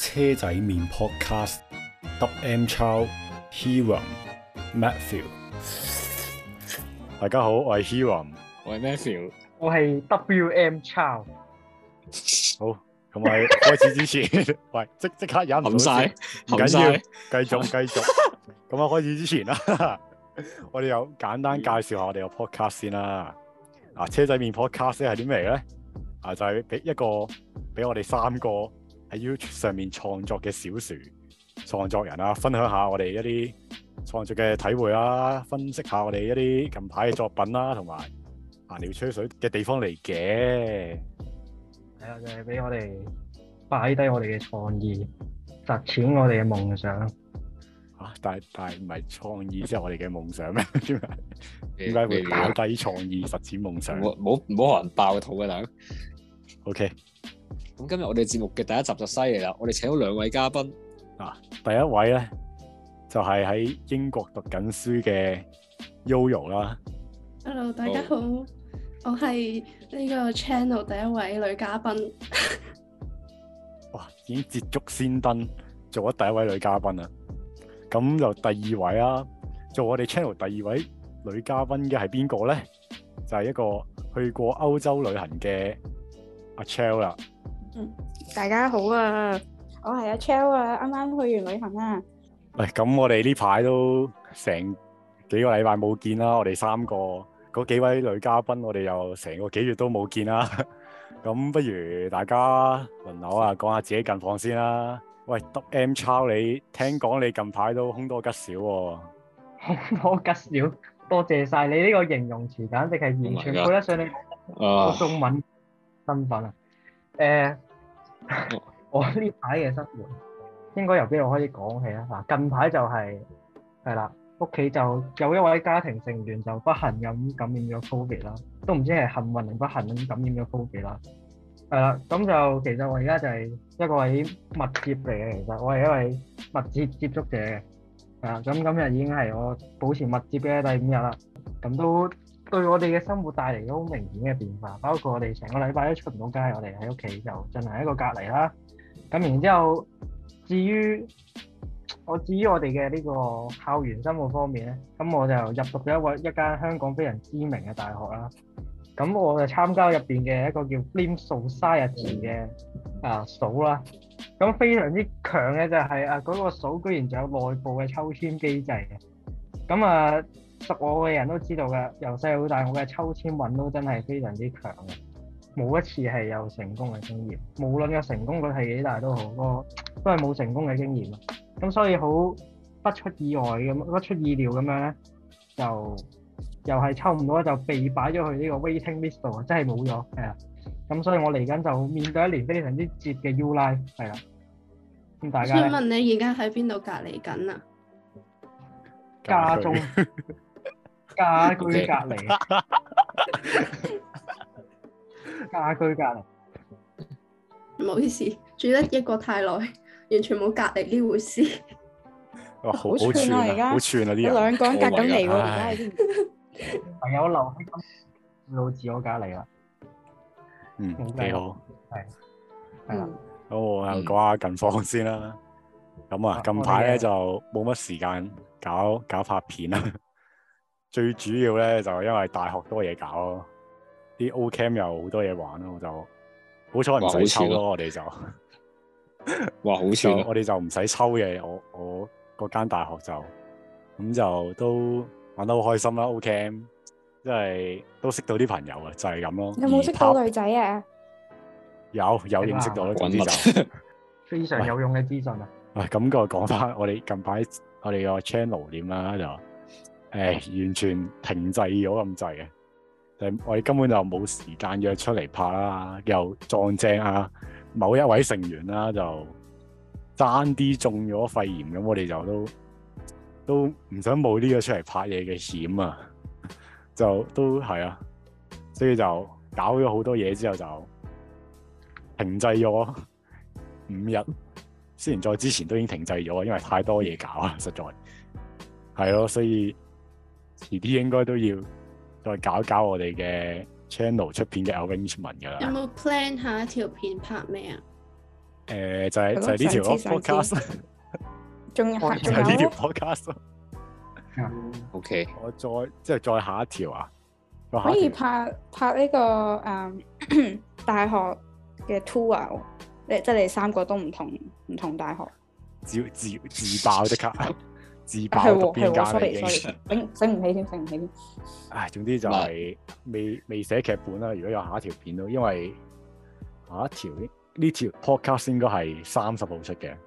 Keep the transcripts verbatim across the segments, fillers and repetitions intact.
車仔麵 Podcast，W M Chow、Hiram、Matthew。大家好，我係 Hiram， 我係 Matthew， 我係 W M Chow。 好，咁喺開始之前，喂，即即刻忍唔到先，唔緊要，繼續繼續。咁啊，開始之前啦，我哋有簡單介紹下我哋個 podcast 先啦。啊，車仔麵 podcast 係啲咩咧？啊，就係、是、俾一個俾我哋三個喺 YouTube 上面創作嘅小樹創作人啦，分享下我哋一啲創作嘅體會啦，分析下我哋一啲近排嘅作品啦，同埋閒聊吹水嘅地方嚟嘅。 係啊，就係、是、俾我哋擺低我哋嘅創意，實踐我哋嘅夢想。 啊！但係但係唔係創意即係我哋嘅夢想咩？點解點解會擺低創意實踐夢想？ 唔好唔好學人爆肚嘅大佬。 O K。 咁今日我哋節目嘅第一集就犀利啦！我哋請到兩位嘉賓。 啊，第一位咧就係、是、喺英國讀緊書嘅 Yoyo 啦。 Hello， 大家好，哦、我係呢個 channel 第一位女嘉賓。 哇！已經捷足先登，做咗第一位女嘉賓啦。咁就第二位啦，做我哋 channel 第二位女嘉賓嘅係邊個咧？就係、是、一個去過歐洲旅行嘅阿 Chell 啦。 嗯，大家好啊，我係阿 Chell 啊，啱啱去完旅行啊。 喂，咁我哋呢排都成幾個禮拜冇見啦，我哋三個嗰幾位女嘉賓，我哋又成個幾月都冇見啦。咁不如大家輪流啊，講下自己近況先啦。喂，W M Chow，你聽講你近排都凶多吉少喎、啊。 凶多吉少，多謝晒你呢個形容詞，簡直係完全配得上你個中文身份啊！誒、呃，我呢排嘅生活應該由邊度開始講起啊？嗱，近排就係係啦，屋企就有一位家庭成員就不幸咁感染咗 Covid 啦，都唔知係幸運定不幸咁感染咗 Covid 啦。係啦，咁就其實我而家就係一個位密接嚟嘅，其實我係一位密切接觸者嘅，係啦，咁今日已經係我保持密接嘅第五日啦，咁都對我哋嘅生活帶嚟咗好明顯嘅變化，包括我哋成個禮拜都出唔到街，我哋喺屋企就進行一個隔離啦，咁然之後至於我至於我哋嘅呢個校園生活方面咧，咁我就入讀咗一位一間香港非常知名嘅大學啦。咁我就參加入邊嘅一個叫 Film Society 嘅啊組啦，咁非常之強嘅就係啊嗰個組居然就有內部嘅抽籤機制嘅，咁啊熟我嘅人都知道㗎，由細到大我嘅抽籤運都真係非常之強嘅，冇一次係有成功嘅經驗，無論個成功率係幾大都好，個都係冇成功嘅經驗啊，咁所以好不出意外咁，不出意料咁樣咧就。又係抽唔到就被擺咗去呢個 waiting list 度啊！真係冇咗，係啊！咁所以我嚟緊就面對一年非常之接嘅 U Life， 係啦。咁大家想問你而家喺邊度隔離緊啊？ 家中家居隔離，家居隔離。 唔好意思，住得一個太耐，完全冇隔離呢回事。 哇，好串啊！而家好串啊！啲人兩個人隔緊嚟喎，而家係朋友留喺到自我隔離啦。 嗯，幾好。係係啦。咁我又講下近況先啦。咁啊，近排咧就冇乜時間搞搞拍片啦。最主要咧就因為大學多嘢搞咯，啲 O Camp 又好多嘢玩咯，就好彩唔使抽咯。我哋就哇，好串！ 我哋就唔使抽嘅，我我。嗰間大學就咁就都玩得好開心啦 ，O Camp，即係都識到啲朋友啊，就係咁咯。 有冇識到女仔啊？ 有有認識到啦，總之就非常有用嘅資訊啊！ 喂，咁個講翻我哋近排我哋個 channel 點啦，就誒、欸、完全停滯咗咁滯嘅，誒我哋根本就冇時間約出嚟拍啦，又撞正啊某一位成員啦就。爭啲中咗肺炎咁，我哋就都都唔想冒呢個出嚟拍嘢嘅險啊！就都係啊，所以就搞咗好多嘢之後就停滯咗五日。雖然在之前都已經停滯咗，因為太多嘢搞啦，實在係咯，所以遲啲應該都要再搞搞我哋嘅 channel 出片嘅 arrangement 㗎啦。 有冇 plan 下一條片拍咩啊？ 誒就係就係呢條咯 podcast， 仲有就係呢條 podcast。 O K， 我再即係再下一條啊， 可以拍拍呢個誒大學嘅 tour，你即係你三個都唔同唔同大學。 自自自爆即刻，自爆係讀邊間啦已經。 醒醒唔起添，醒唔起添。 唉，總之就係未未寫劇本啦。如果有下一條片都，因為下一條呢條 podcast 應該係三十號出嘅，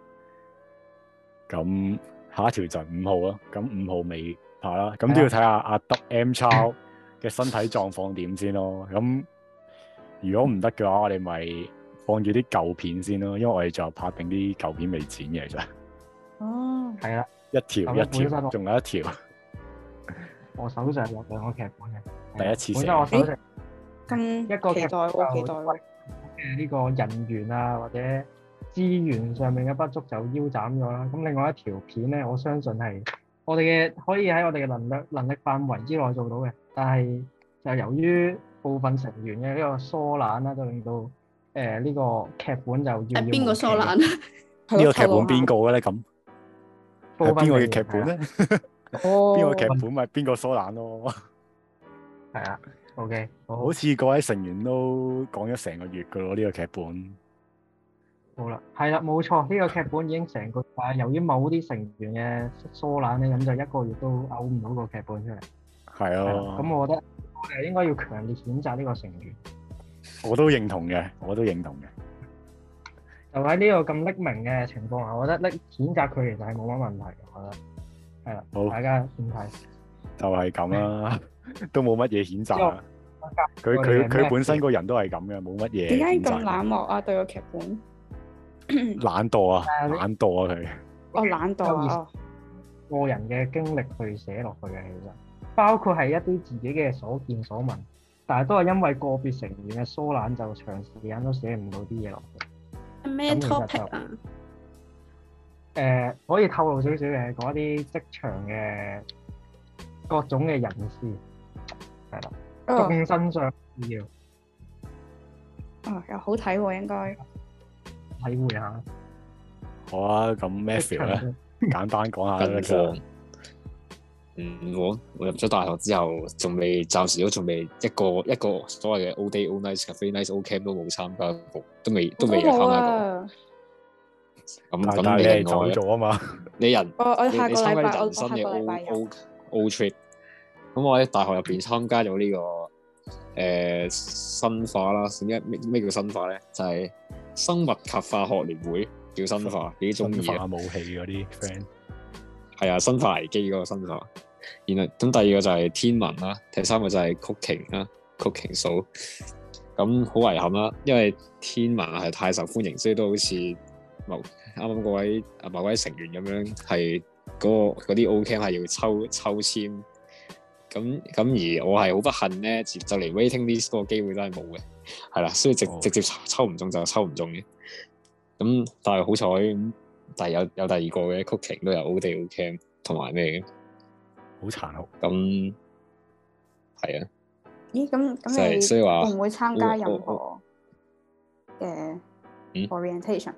咁下一條就五號咯。咁五號未拍啦，咁都要睇下阿德 M 超嘅身體狀況點先咯。咁如果唔得嘅話，我哋咪放住啲舊片先咯，因為我哋就拍定啲舊片未剪嘅，其實。 哦，係啦， 一條一條，仲有一條。 我手上有兩個劇本嘅， 第一次寫。 本身我手上咁一個劇本我期待嘅呢個人員啊或者資源上面嘅不足就腰斬咗啦。咁另外一條片咧，我相信係我哋嘅可以喺我哋嘅能力能力範圍之內做到嘅，但係就由於部分成員嘅呢個疏懶啦，就令到。誒呢、呃這個劇本就要要邊個疏懶啊？ 呢個劇本邊個嘅咧？咁係邊個嘅劇本咧？ 哦， 邊個劇本咪邊個疏懶咯？ 係啊 ，OK，好， 好似各位成員都講咗成個月噶咯，呢、這個劇本。 好啦，係啦，冇錯，呢、這個劇本已經成個，但係由於某啲成員嘅疏懶咧，咁就一個月都嘔唔到個劇本出嚟。係啊， 咁我覺得我哋應該要強烈譴責呢個成員。 我都認同嘅，我都認同嘅。 就喺呢個咁匿名嘅情況下，我覺得匿譴責佢其實係冇乜問題嘅，我覺得係啦。好，大家點睇？ 就係咁啦，都冇乜嘢譴責啊。佢佢佢本身個人都係咁嘅，冇乜嘢。 點解咁冷漠啊？對個劇本？ 懶惰啊，懶惰啊佢。 哦，懶惰啊！ 個人嘅經歷去寫落去嘅，其實包括係一啲自己嘅所見所聞。但係都係因為個別成員嘅疏懶，就長時間都寫唔到啲嘢落去。 咩 topic 啊？ 誒、呃，可以透露少少嘅，講一啲職場嘅各種嘅人士，係啦，眾生相要。 哦，又好睇喎，應該體會下。 好啊，咁 Matthew 咧，簡單講下啦。 況嗯，我我入咗大學之後，仲未暫時都仲未一個一個所謂嘅 all day all night cafe night all camp 都冇參加過，都未都未有參加過。咁咁你另外咗啊嘛？ 你人我我下個禮拜人生嘅 all all trip。咁我喺大學入邊參加咗呢、這個誒、呃、生化啦，點解咩咩叫生化咧？就係、是、生物及化學聯會叫生化，幾中意啊！武器嗰啲 friend 係啊，生化危機嗰個生化。然後咁第二個就係天文啦，第三個就係 cooking 啦 ，cooking 數。咁好遺憾啦，因為天文係太受歡迎，所以都好似某啱啱嗰位啊某位成員咁樣，係嗰、嗰個嗰啲 O Camp 係要抽抽籤。咁咁而我係好不幸咧，就嚟 waiting list 嗰個機會都係冇嘅，係啦，所以直、oh. 直接抽唔中就抽唔中嘅。咁但係好彩，但係有有第二個嘅 cooking 都有 O day O Camp 同埋咩嘅。好殘酷，咁係啊？ 咦，咁咁你會唔會參加任何嘅 orientation？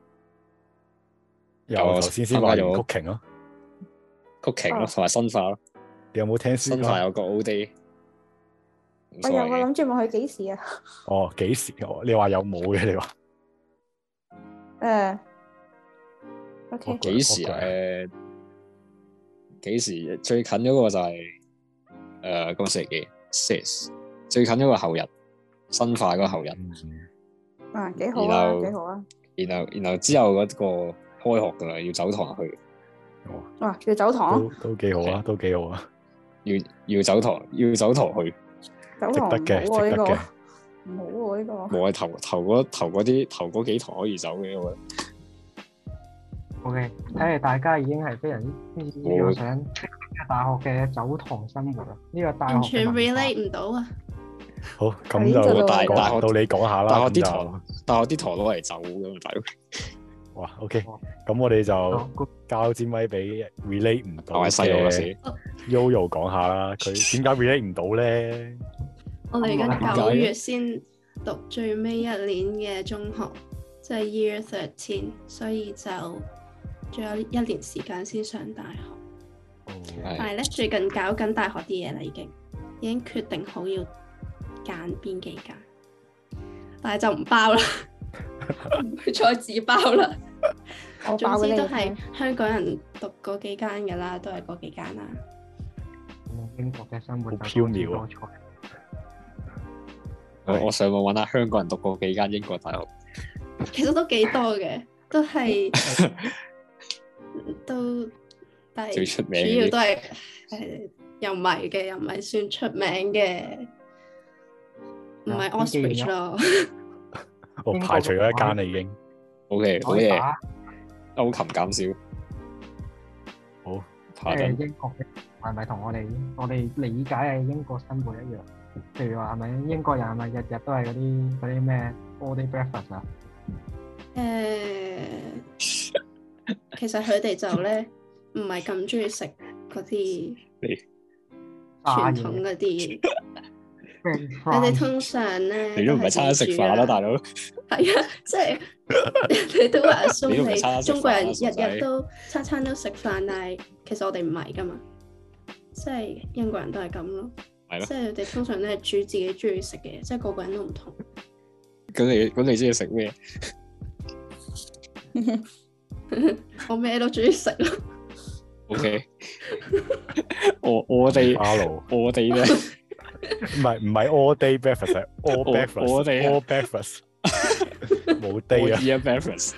有頭先先話咗 cooking 咯 ，cooking 咯，同埋生化咯。 你有冇聽書？ 生化有個 O day。 我有，我諗住問佢幾時啊？ 哦，幾時？你話有冇嘅？你話？ 誒，OK。 幾時啊？誒。幾時最近嗰個就係誒今日星期幾 ？Six 最近嗰個後日，生化嗰個後日。 啊，幾好啊，幾好啊！ 然後然後之後嗰個開學噶啦，要走堂去。 哇！要走堂？ 都都幾好啊，都幾好啊！ 要要走堂，要走堂去。 走堂值得嘅，值得嘅。 唔好喎呢個。 冇係頭頭嗰頭嗰啲頭嗰幾堂可以走嘅，我覺得。 O.K. 睇嚟大家已經係非常之呢個想大學嘅走堂生活啊！呢、這個大學完全 relate 唔到啊！ 好，咁就大大學到你講下啦。 大學啲堂，大學啲堂攞嚟走㗎嘛，大佬。 哇！O.K. 咁我哋就交支咪俾 relate 唔到嘅 Yoyo 講下啦。佢點解 relate 唔到咧？ 我哋而家九月先讀最尾一年嘅中學。 就係 year thirteen，所以就仲有一年時間先上大學。 哦、 但係咧最近搞緊大學啲嘢啦，已經已經決定好要揀邊幾間，但係就唔包啦，唔會再自爆啦。 我包總之都係香港人讀嗰幾間㗎啦，都係嗰幾間啦。 英國嘅生活好飄渺啊！ 我我上網揾下香港人讀過幾間英國大學， 其實都幾多嘅，都係都但係最出名主要都係誒又唔係嘅，又唔係算出名嘅，唔係 Oxbridge 咯。 我排除咗一間啦，已經。O K， 好嘢，歐琴減少。 好， 即係英國嘅係咪同我哋我哋理解嘅英國生活一樣？譬如話係咪英國人係咪日日都係嗰啲嗰啲咩 all day breakfast 啊？ 誒，其實佢哋就咧唔係咁中意食嗰啲傳統嗰啲。佢哋通常咧， 你都唔係餐餐食飯啦，大佬。 係啊，即係你都話蘇你中國人日日都餐餐都食飯，但係其實我哋唔係噶嘛，即係英國人都係咁咯。係咯。即係佢哋通常都係煮自己中意食嘅嘢，即係個個人都唔同。 咁你咁你中意食咩？ 我咩都中意食咯。 O K。我我哋我哋咧。 唔係唔係 all day breakfast，係 all breakfast，all breakfast，冇 day 啊 ，all breakfast。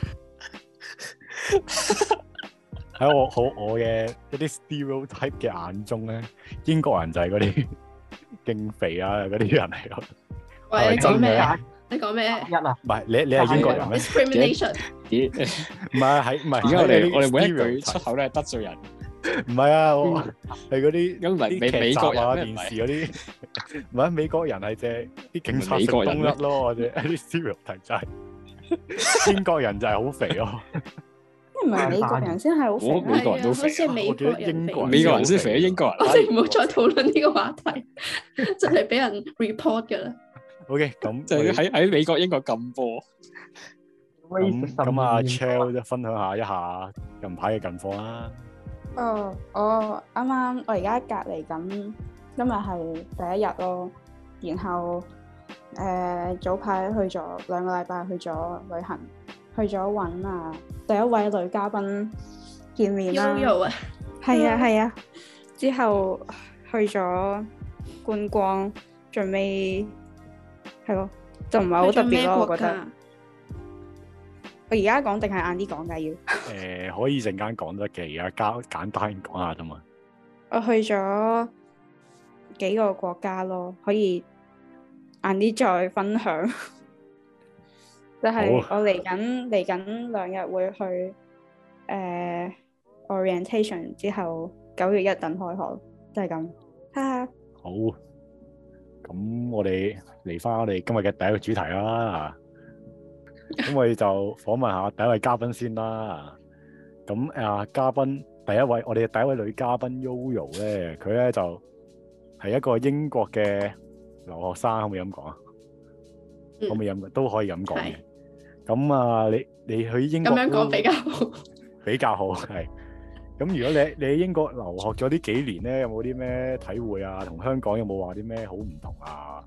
喺我好我嘅一啲 stereotype 嘅眼中咧，英國人就係嗰啲勁肥啊嗰啲人嚟咯。 喂，你講咩啊？你講咩？ 一啊？ 唔係你你係英國人咩 ？Discrimination。 唔係喺唔係， 而家我哋我哋每一句出口都係得罪人。 唔係啊，我係嗰啲咁唔係美美國人啊，電視嗰啲唔係美國人係隻啲警察食冬甩咯，或者啲 stereotype 就係英國人就係好肥咯。 唔係美國人先係好肥， 美國人都肥。 好似係美國人肥， 美國人先肥，英國人。 我哋唔好再討論呢個話題，真係俾人 report 㗎啦。 OK，咁就喺喺美國、英國禁播。 咁咁阿 Chell 就分享下一下近排嘅近況啦。 哦，我啱啱我而家隔離緊，今日係第一日咯。然後誒、呃、早排去咗兩個禮拜去咗旅行，去咗揾啊第一位女嘉賓見面啦。 Yoyo 啊， 係啊係啊。之後去咗觀光，最尾係咯，就唔係好特別咯，我覺得。我而家講定係晏啲講㗎要？誒、 呃，可以陣間講得嘅，而家交簡單講下啫嘛。 我去咗幾個國家咯，可以晏啲再分享。就係我嚟緊嚟緊兩日會去誒、呃、orientation 之後，九月一等開學，就係咁。哈哈。 好，咁我哋嚟翻我哋今日嘅第一個主題啦。咁我哋就訪問下第一位嘉賓先啦。咁啊，嘉賓第一位，我哋嘅第一位女嘉賓 Yoyo 咧，佢咧就係一個英國嘅留學生，可唔可以咁講啊？可唔可以咁都可以咁講嘅。咁啊，你你去英國咁樣講比較好， 比較好係。咁如果你你喺英國留學咗呢幾年咧，有冇啲咩體會啊？同香港有冇話啲咩好唔同啊？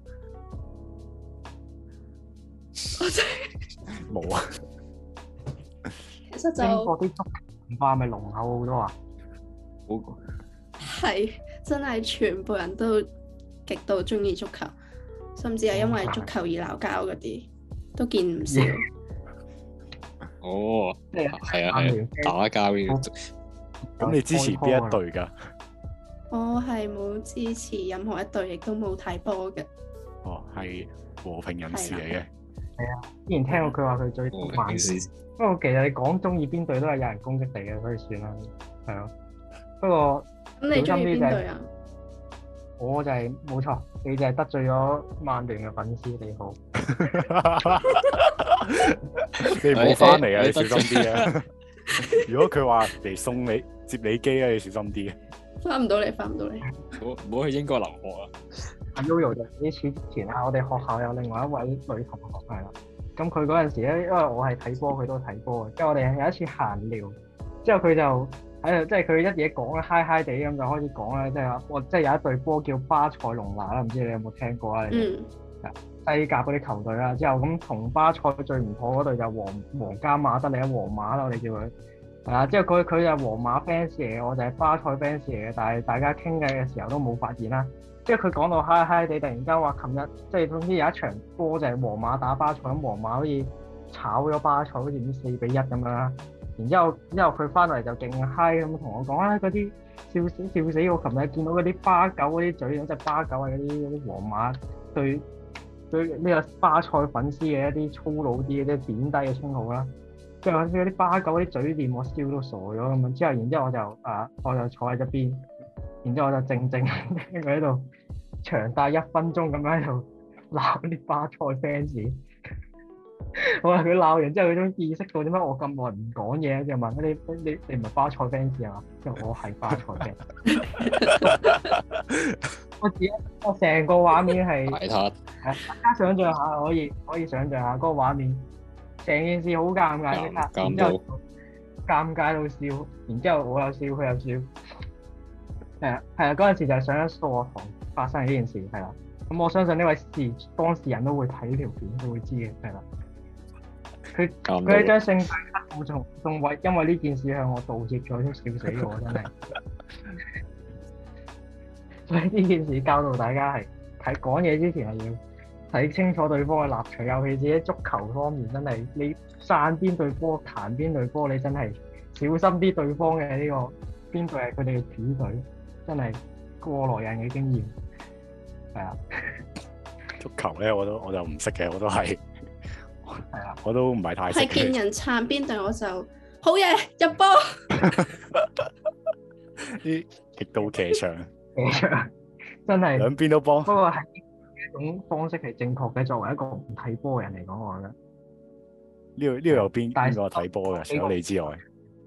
我真係冇啊！ 其實就英國啲足球文化係咪濃厚好多啊？ 係真係全部人都極度中意足球，甚至係因為足球而鬧交嗰啲都見唔少。 哦，係啊係啊，打交嘅。 咁你支持邊一隊㗎？ 我係冇支持任何一隊，亦都冇睇波嘅。 哦，係和平人士嚟嘅。 係啊，之前聽過佢話佢最中意曼市，不過其實你講中意邊隊都係有人攻擊你嘅，所以算啦。係咯，不過咁你中意邊隊啊？ 我就係、是、冇錯，你就係得罪咗曼聯嘅粉絲，你好。 你唔好翻嚟啊！你小心啲啊！如果佢話嚟送你接你機啊，你小心啲啊！ 翻唔到嚟，翻唔到嚟。 唔好唔好去英國留學啊！ 阿 Yoyo 就呢次之前啊，我哋學校有另外一位女同學係啦， 咁佢嗰陣時咧，因為我係睇波，佢都睇波嘅。之後我哋有一次閒聊，之後佢就喺度，即係佢一嘢講啦，嗨嗨地咁就開始講啦，即係話我即係有一隊波叫巴塞隆拿啦，唔知你有冇聽過啊？ 嗯。 西甲嗰啲球隊啦，之後咁同巴塞最唔妥嗰隊就皇皇家馬德里啊，皇馬啦，我哋叫佢係啊。之後佢佢就皇馬 fans 嚟嘅，我就係巴塞 fans 嚟嘅，但係大家傾偈嘅時候都冇發現啦。即係佢講到嗨嗨地，突然間話琴日即係總之有一場波就係皇馬打巴塞，咁皇馬好似炒咗巴塞，好似唔知四比一咁樣啦。然之後之後佢翻嚟就勁嗨咁同我講啊，嗰啲笑死笑死我！琴日見到嗰啲巴狗嗰啲嘴，即係巴狗係嗰啲嗰啲皇馬對對呢個巴塞粉絲嘅一啲粗魯啲嘅即係貶低嘅稱號啦。即係嗰啲巴狗嗰啲嘴臉，我笑到傻咗咁樣。之後然之後我就啊我就坐喺側邊。然之後我就靜靜聽佢喺度長達一分鐘咁樣喺度鬧啲巴塞 fans。我話佢鬧完之後，佢終於意識到點解我咁耐唔講嘢，就問你你你唔係巴塞 fans 啊？因為我係巴塞 fans。我自己我成個畫面係係大家想象下，可以可以想象下嗰個畫面，成件事好尷尬嘅，然之後尷尬到笑，然之後我又笑，佢又笑。係啊，係啊，嗰陣時就係上咗數學堂發生嘅呢件事，係啦。咁我相信呢位事當事人都會睇呢條片，都會知嘅，係啦。佢佢喺張聖誕卡度仲仲為因為呢件事向我道歉咗，都笑死我真係。所以呢件事教導大家係睇講嘢之前係要睇清楚對方嘅立場，尤其是喺足球方面，真係你散邊隊波彈邊隊波，你真係小心啲對方嘅呢個邊隊係佢哋嘅主隊。真係過來人嘅經驗，係啊！ 足球咧，我都我就唔識嘅，我都係係啊，我都唔係太識。 係見人撐邊隊我就好嘢入波。 啲極度騎牆， 騎牆真係兩邊都幫。 不過係呢種方式係正確嘅，作為一個唔睇波嘅人嚟講，我覺得呢度呢度有邊邊個睇波嘅？除咗你之外。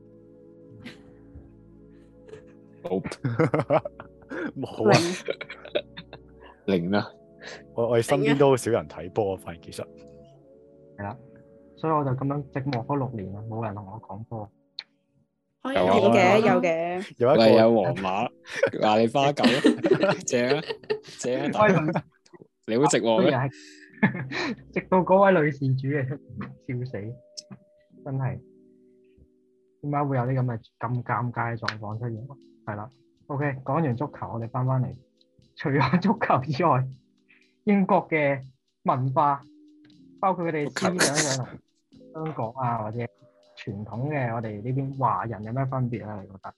冇啊， 零啦！ 我我哋身邊都好少人睇波，反而其實係啦，所以我就咁樣寂寞咗六年啦，冇人同我講波。 有嘅，有嘅， 有一個有皇馬，話你花狗，正啊，正啊，你好寂寞咩？ 直到嗰位女事主嘅出現，笑死，真係點解會有啲咁嘅咁尷尬嘅狀況出現？係啦 ，OK，講完足球，我哋翻翻嚟，除咗足球之外，英國嘅文化，包括佢哋思想上同香港啊，或者傳統嘅我哋呢邊華人有咩分別咧？你覺得？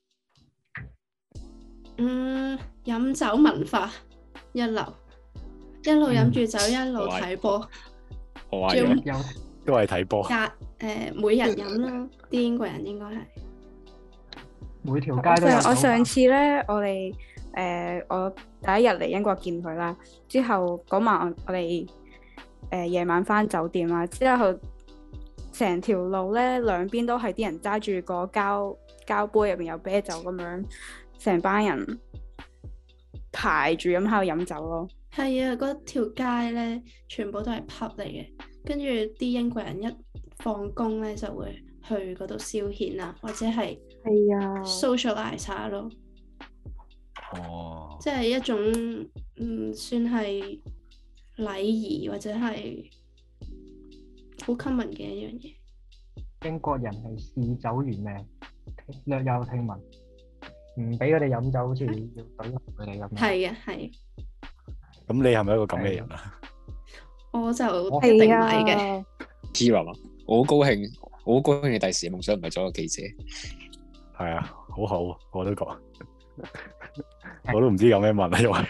嗯，飲酒文化一流，一路飲住酒，嗯、一路睇波， 好啊，有都係睇波。 隔誒、呃，每日飲啦，啲英國人應該係。 每條街都有。 我上次咧，我哋誒、呃，我第一日嚟英國見佢啦，之後嗰晚我哋誒夜晚翻酒店啦，之後成條路咧兩邊都係啲人揸住個膠膠杯，入邊有啤酒咁樣，成班人排住咁喺度飲酒咯。 係啊，嗰條街咧全部都係 pub 嚟嘅，跟住啲英國人一放工咧就會去嗰度消遣啊，或者係。 係啊 socialize 下咯， 哦， 即係一種嗯，算係禮儀或者係好 common 嘅一樣嘢。 英國人係嗜酒如命，略有聽聞，唔俾佢哋飲酒，好似要懟佢哋咁。係嘅，係。 咁你係咪一個咁嘅人啊？ 我就一定唔係嘅。 Kira 啊，我好高興，我好高興你第時嘅夢想唔係做個記者。 係啊，好好，我都覺，我都唔知有咩問啊，因為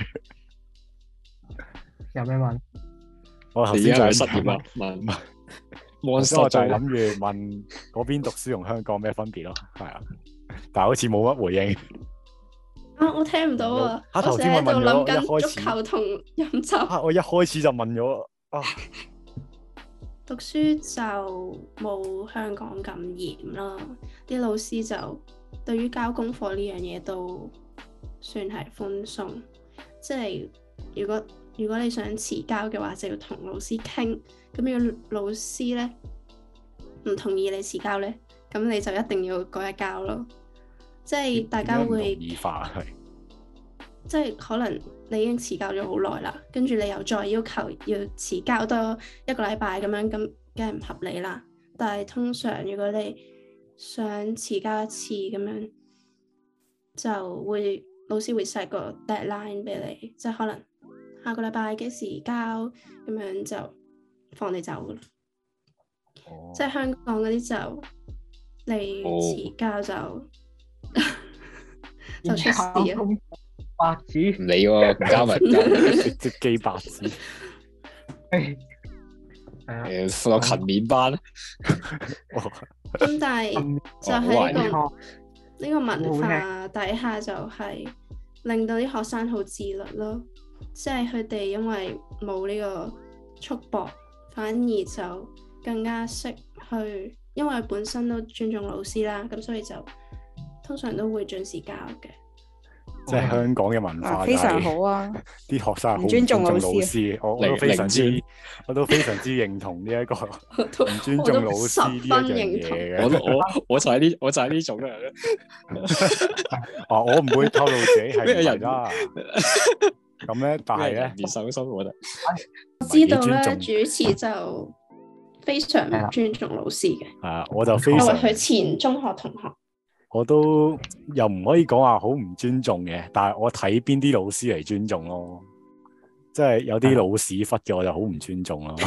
有咩問？ 我頭先就係失業啦，問問， 我就係諗住問嗰邊讀書同香港咩分別咯，係啊，但係好似冇乜回應。 啊，我聽唔到啊！ 我頭先咪問咗，一開始足球同飲酒。 啊，我一開始就問咗啊。 讀書就冇香港咁嚴啦，啲老師就對於交功課呢樣嘢都算係寬鬆，即係如果如果你想遲交嘅話，就要同老師傾。咁如果老師咧唔同意你遲交咧，咁你就一定要嗰日交咯。即係大家會異化係， 即係可能你已經遲交咗好耐啦，跟住你又再要求要遲交多一個禮拜咁樣，咁梗係唔合理啦。但係通常如果你想遲交一次咁樣，就會老師會 set 個 deadline 俾你，即係可能下個禮拜幾時交咁樣就放你走噶啦。哦、即係香港嗰啲就你遲交就、哦、就出事啊！ 白紙唔理喎，唔交咪唔交， 直接寄白紙。 誒，放個勤勉班。 咁但係就喺呢個呢個文化底下，就係令到啲學生好自律咯。即係佢哋因為冇呢個束縛，反而就更加識去，因為本身都尊重老師啦，咁所以就通常都會準時交嘅。 即係香港嘅文化、就是， 非常好啊！ 啲學生好唔尊重老師， 老師我我都非常之，我都非常之認同呢一個唔尊重老師呢一樣嘢嘅。 我我我就係呢，我就係呢種人。 哦，我唔會透露自己係咩人啦。咁咧，但係咧， 練手心我覺得。 我知道咧，主持就非常唔尊重老師嘅。 係啊，我就非常。 佢前中學同學。 我都又唔可以講話好唔尊重嘅，但係我睇邊啲老師嚟尊重咯，即係有啲老屎忽嘅我就好唔尊重咯。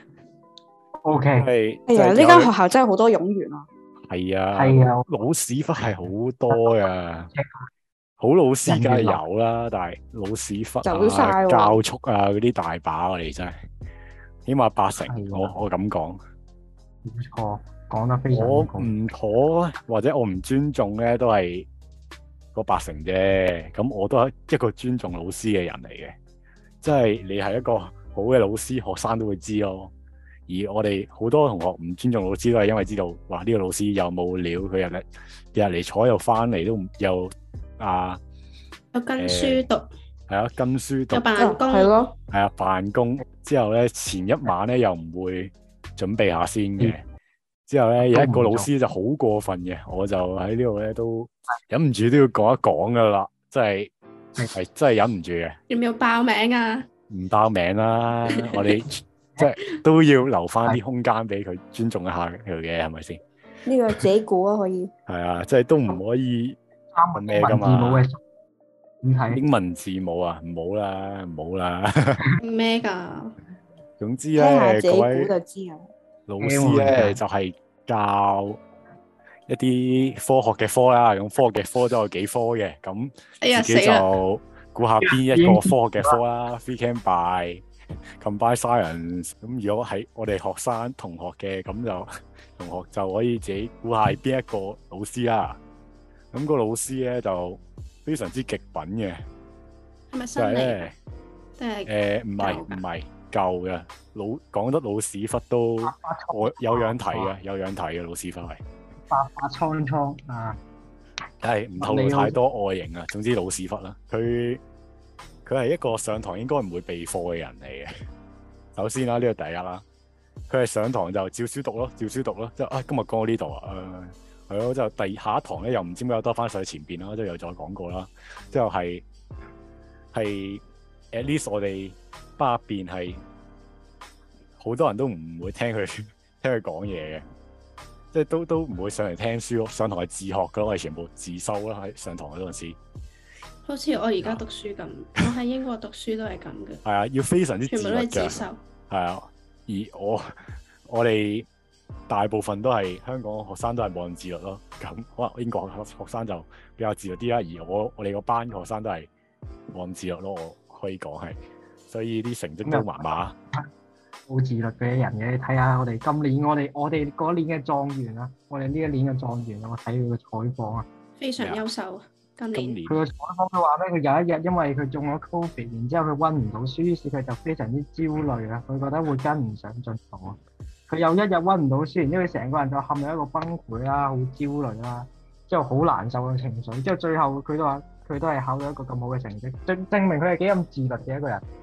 O K， 係， 哎呀，呢間學校真係好多冗員啊。 係啊， 係啊， 老屎忽係好多噶，好老師梗係有啦，但係老屎忽啊、教畜啊嗰啲大把我哋真係，起碼八成，我我咁講。 冇錯。講得非常我唔妥或者我唔尊重咧，都係個八成啫。咁我都係一個尊重老師嘅人嚟嘅，即係你係一個好嘅老師，學生都會知咯。而我哋好多同學唔尊重老師，都係因為知道話呢個老師又冇料，佢日嚟日嚟坐又翻嚟都唔又啊， 有跟書讀係啊，跟書讀有辦公係咯， 係啊，辦公之後咧前一晚咧又唔會準備下先嘅。嗯之後咧有一個老師就好過分嘅，我就喺呢度咧都忍唔住都要講一講噶啦，即係係真係忍唔住嘅。 要唔要爆名啊？ 唔爆名啦，我哋即係都要留翻啲空間俾佢尊重一下佢嘅，係咪先？ 呢個自己估啊，可以。 係啊，即係都唔可以問咩噶嘛。英文字母啊，唔好啦，唔好啦。 咩噶？ 總之咧，各位就知啊。 老師咧就係、是、教一啲科學嘅科啦，咁科學嘅科都有幾科嘅，咁自己就估下邊一個科學嘅科啦。Free Chem Bio Combined Science，咁如果係我哋學生同學嘅，咁就同學就可以自己估下係邊一個老師啦。咁、那個老師咧就非常之極品嘅， 係咪新嚟？定係誒唔係唔係。舊嘅老講得老屎忽都我有樣睇嘅，有樣睇嘅老屎忽係白髮蒼蒼啊， 係唔透露太多外形啊。總之老屎忽啦，佢佢係一個上堂應該唔會備課嘅人嚟嘅。首先啦，呢個第一啦，佢係上堂就照書讀咯，照書讀咯，即係啊今日講到呢度啊，誒係咯，之後第二下一堂咧又唔知點解多翻上去前邊啦，之後又再講過啦，之後係係 at least 我哋班入邊係好多人都唔會聽佢聽佢講嘢嘅，即係都都唔會上嚟聽書咯。上堂係自學噶咯，我哋全部自修啦。喺上堂嗰陣時， 好似我而家讀書咁，啊、我喺英國讀書都係咁嘅。係啊，要非常之自律嘅。 全部都係自修。 係啊，而我我哋大部分都係香港學生都係冇咁自律咯。咁可能英國學生就比較自律啲啦。而我我哋個班學生都係冇咁自律咯。我可以講係。所以啲成績都麻麻， 好自律嘅人嘅，你睇下我哋今年我哋我哋嗰年嘅狀元啊，我哋呢一年嘅狀元啊，我睇佢嘅採訪啊， 非常優秀啊！今年佢嘅採訪佢話咧，佢有一日因為佢中咗 Covid，然之後佢溫唔到書，於是佢就非常之焦慮啊，佢覺得會跟唔上進度啊。佢有一日溫唔到書，然之後佢成個人就陷入一個崩潰啦，好焦慮啦，之後好難受嘅情緒，之後最後佢都話佢都係考到一個咁好嘅成績，證證明佢係幾咁自律嘅一個人。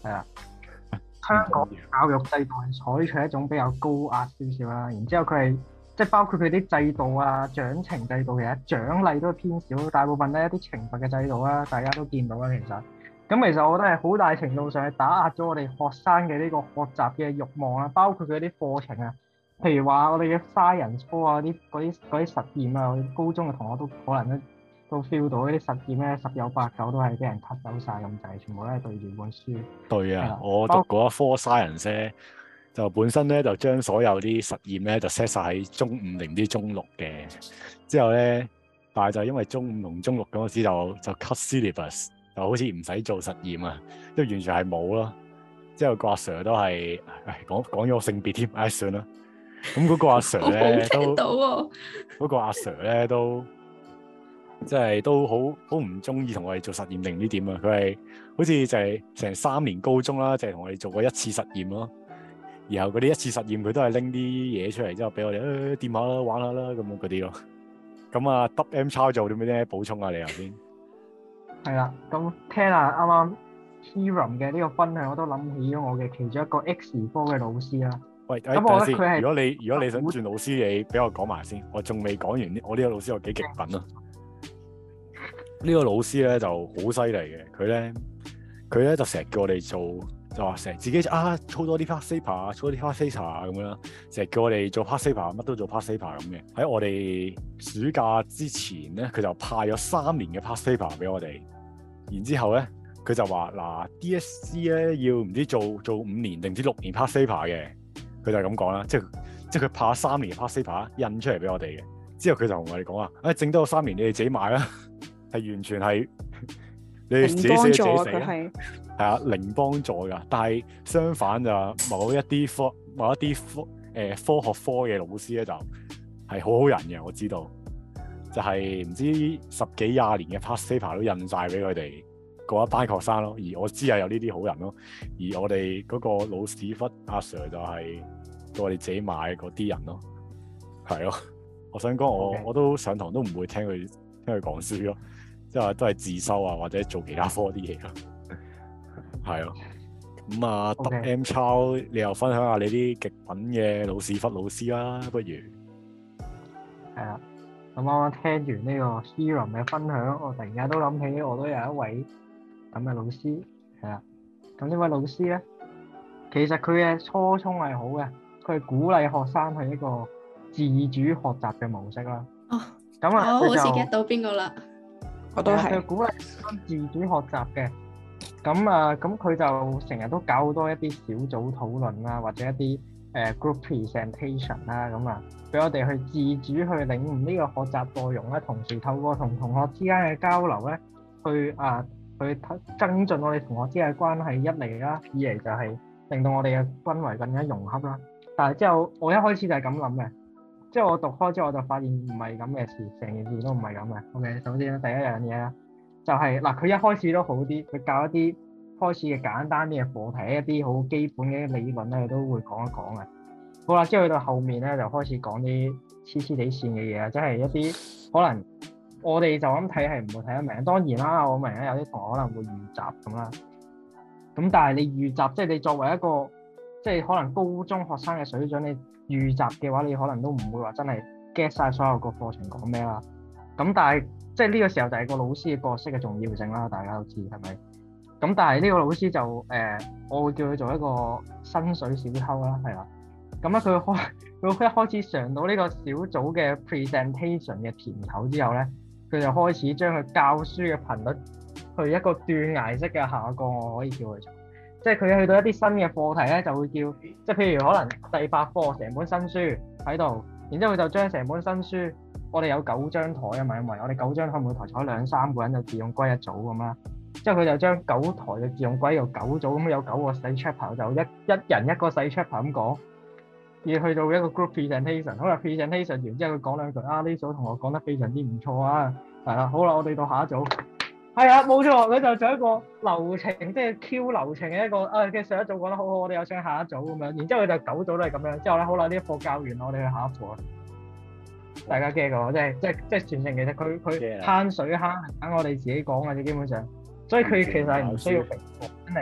係啊。香港教育制度係採取一種比較高壓少少啦，然之後佢係即係包括佢啲制度啊、獎懲制度，其實獎勵都偏少，大部分都係一啲懲罰嘅制度啦，大家都見到啦。其實咁其實我覺得係好大程度上係打壓咗我哋學生嘅呢個學習嘅慾望啦，包括佢啲課程啊，譬如話我哋嘅 science 科啊，啲嗰啲嗰啲實驗啊，我哋高中嘅同學都可能都都 feel 到嗰啲實驗咧，十有八九都係俾人 cut 走晒咁滯，全部都係對住本書。對啊，我讀嗰一科 science 咧，就本身咧就將所有啲實驗咧就 set 晒喺中五定唔知中六嘅，之後咧，但係就因為中五同中六嗰陣時就就 cut syllabus，就好似唔使做實驗啊，即係完全係冇咯。之後個阿 Sir 都係，唉講講咗個性別添，唉算啦。咁嗰個阿 Sir 咧都，嗰個阿 Sir 咧都。即係都好好唔中意同我哋做實驗定唔知點啊！佢係好似就係成三年高中啦，就係同我哋做過一次實驗咯。然後嗰啲一次實驗佢都係拎啲嘢出嚟之後俾我哋誒掂下啦、玩下啦咁樣嗰啲咯。咁啊 W M 抄做啲咩咧？補充下你頭先。係啦，咁聽下啱啱 Hiram 嘅呢個分享，我都諗起咗我嘅其中一個 X 科嘅老師啦。喂，咁我覺得佢係如果你如果你想轉老師，你俾我講埋先，我仲未講完呢。我呢個老師有幾極品啊！呢個老師咧就好犀利嘅，佢咧佢咧就成日叫我哋做，就話成日自己啊操多啲 past paper 啊，操多啲 past paper 啊咁樣，成日叫我哋做 past paper，乜都做 past paper 咁嘅。喺我哋暑假之前咧，佢就派咗三年嘅 past paper 俾我哋，然之後咧佢就話嗱 D S C 咧要唔知做做五年定唔知六年 past paper 嘅，佢就係咁講啦，即係即係佢派咗三年嘅 past paper 印出嚟俾我哋嘅，之後佢就同我哋講啊，誒整多三年你哋自己買啦。係完全係你哋自己寫自己死啦，係啊零幫助噶。但係相反就某一啲科某一啲科誒、呃、科學科嘅老師咧就係好好人嘅，我知道就係、是、唔知十幾廿年嘅 past paper 都印晒俾佢哋嗰一班學生咯。而我知係有呢啲好人咯。而我哋嗰個老屎忽阿 Sir 就係叫我哋自己買嗰啲人咯，係咯。我想講我、okay. 我都上堂都唔會聽佢聽佢講書咯。即係都係自修啊，或者做其他科啲嘢咯，係咯。咁啊 ，W M 抄，你又分享下你啲極品嘅老屎忽老師啦，不如？ 係啊，咁啱啱聽完呢個 Hiram 嘅分享，我突然間都諗起，我都有一位咁嘅老師，係啊。咁呢位老師咧，其實佢嘅初衷係好嘅，佢係鼓勵學生係一個自主學習嘅模式啦。哦，咁啊， 我好似 get 到邊個啦？ 我都係鼓勵自主學習嘅，咁啊，咁佢就成日都搞好多一啲小組討論啦，或者一啲誒、呃、group presentation 啦，咁啊，俾我哋去自主去領悟呢個學習內容咧，同時透過同同學之間嘅交流咧，去啊去增進我哋同學之間嘅關係，一嚟啦，二嚟就係令到我哋嘅氛圍更加融洽啦。但係之後我一開始就係咁諗嘅。即係我讀開之後，我就發現唔係咁嘅事，成件事都唔係咁嘅。OK，首先第一樣嘢啦，就係、是、嗱，佢一開始都好啲，佢教一啲開始嘅簡單啲嘅課題，一啲好基本嘅理論咧，佢都會講一講嘅。好啦，之後去到後面咧，就開始講啲黐黐地線嘅嘢啊，即係一啲可能我哋就咁睇係唔會睇得明。當然啦，我明啦，有啲同學可能會預習咁啦。咁但係你預習，即係你作為一個即係可能高中學生嘅水準，你預習嘅話，你可能都唔會話真係 get 晒所有個課程講咩啦。咁但係即係呢個時候就係個老師嘅角色嘅重要性啦，大家都知係咪？咁但係呢個老師就誒、呃，我會叫佢做一個薪水小偷啦，係啦。咁咧佢開佢一開始嘗到呢個小組嘅 presentation 嘅甜頭之後咧，佢就開始將佢教書嘅頻率去一個斷崖式嘅下降，我可以叫佢做。即係佢去到一啲新嘅課題咧，就會叫，即係譬如可能第八課成本新書喺度，然之後佢就將成本新書，我哋有九張台啊嘛，因為我哋九張台每台坐兩三個人就自動歸一組咁啦。之後佢就將九台嘅自動歸到九組，咁有九個細 chapter 就一一人一個細 chapter 咁講，而去到一個 group presentation， 好啦 presentation 完之後佢講兩句啊，呢組同學講得非常之唔錯啊，係啦，好啦，我哋到下一組。係啊，冇錯，佢就做一個流程，即係 Q 流程嘅一個，啊嘅上一組講得好好，我哋又上下一組咁樣，然之後佢就九組都係咁樣，之後咧好啦，呢一課教完，我哋去下一課啊。大家驚過，即係即係即係全程其實佢佢慳水慳，等我哋自己講嘅啫，基本上，所以佢其實係唔需要評課，真係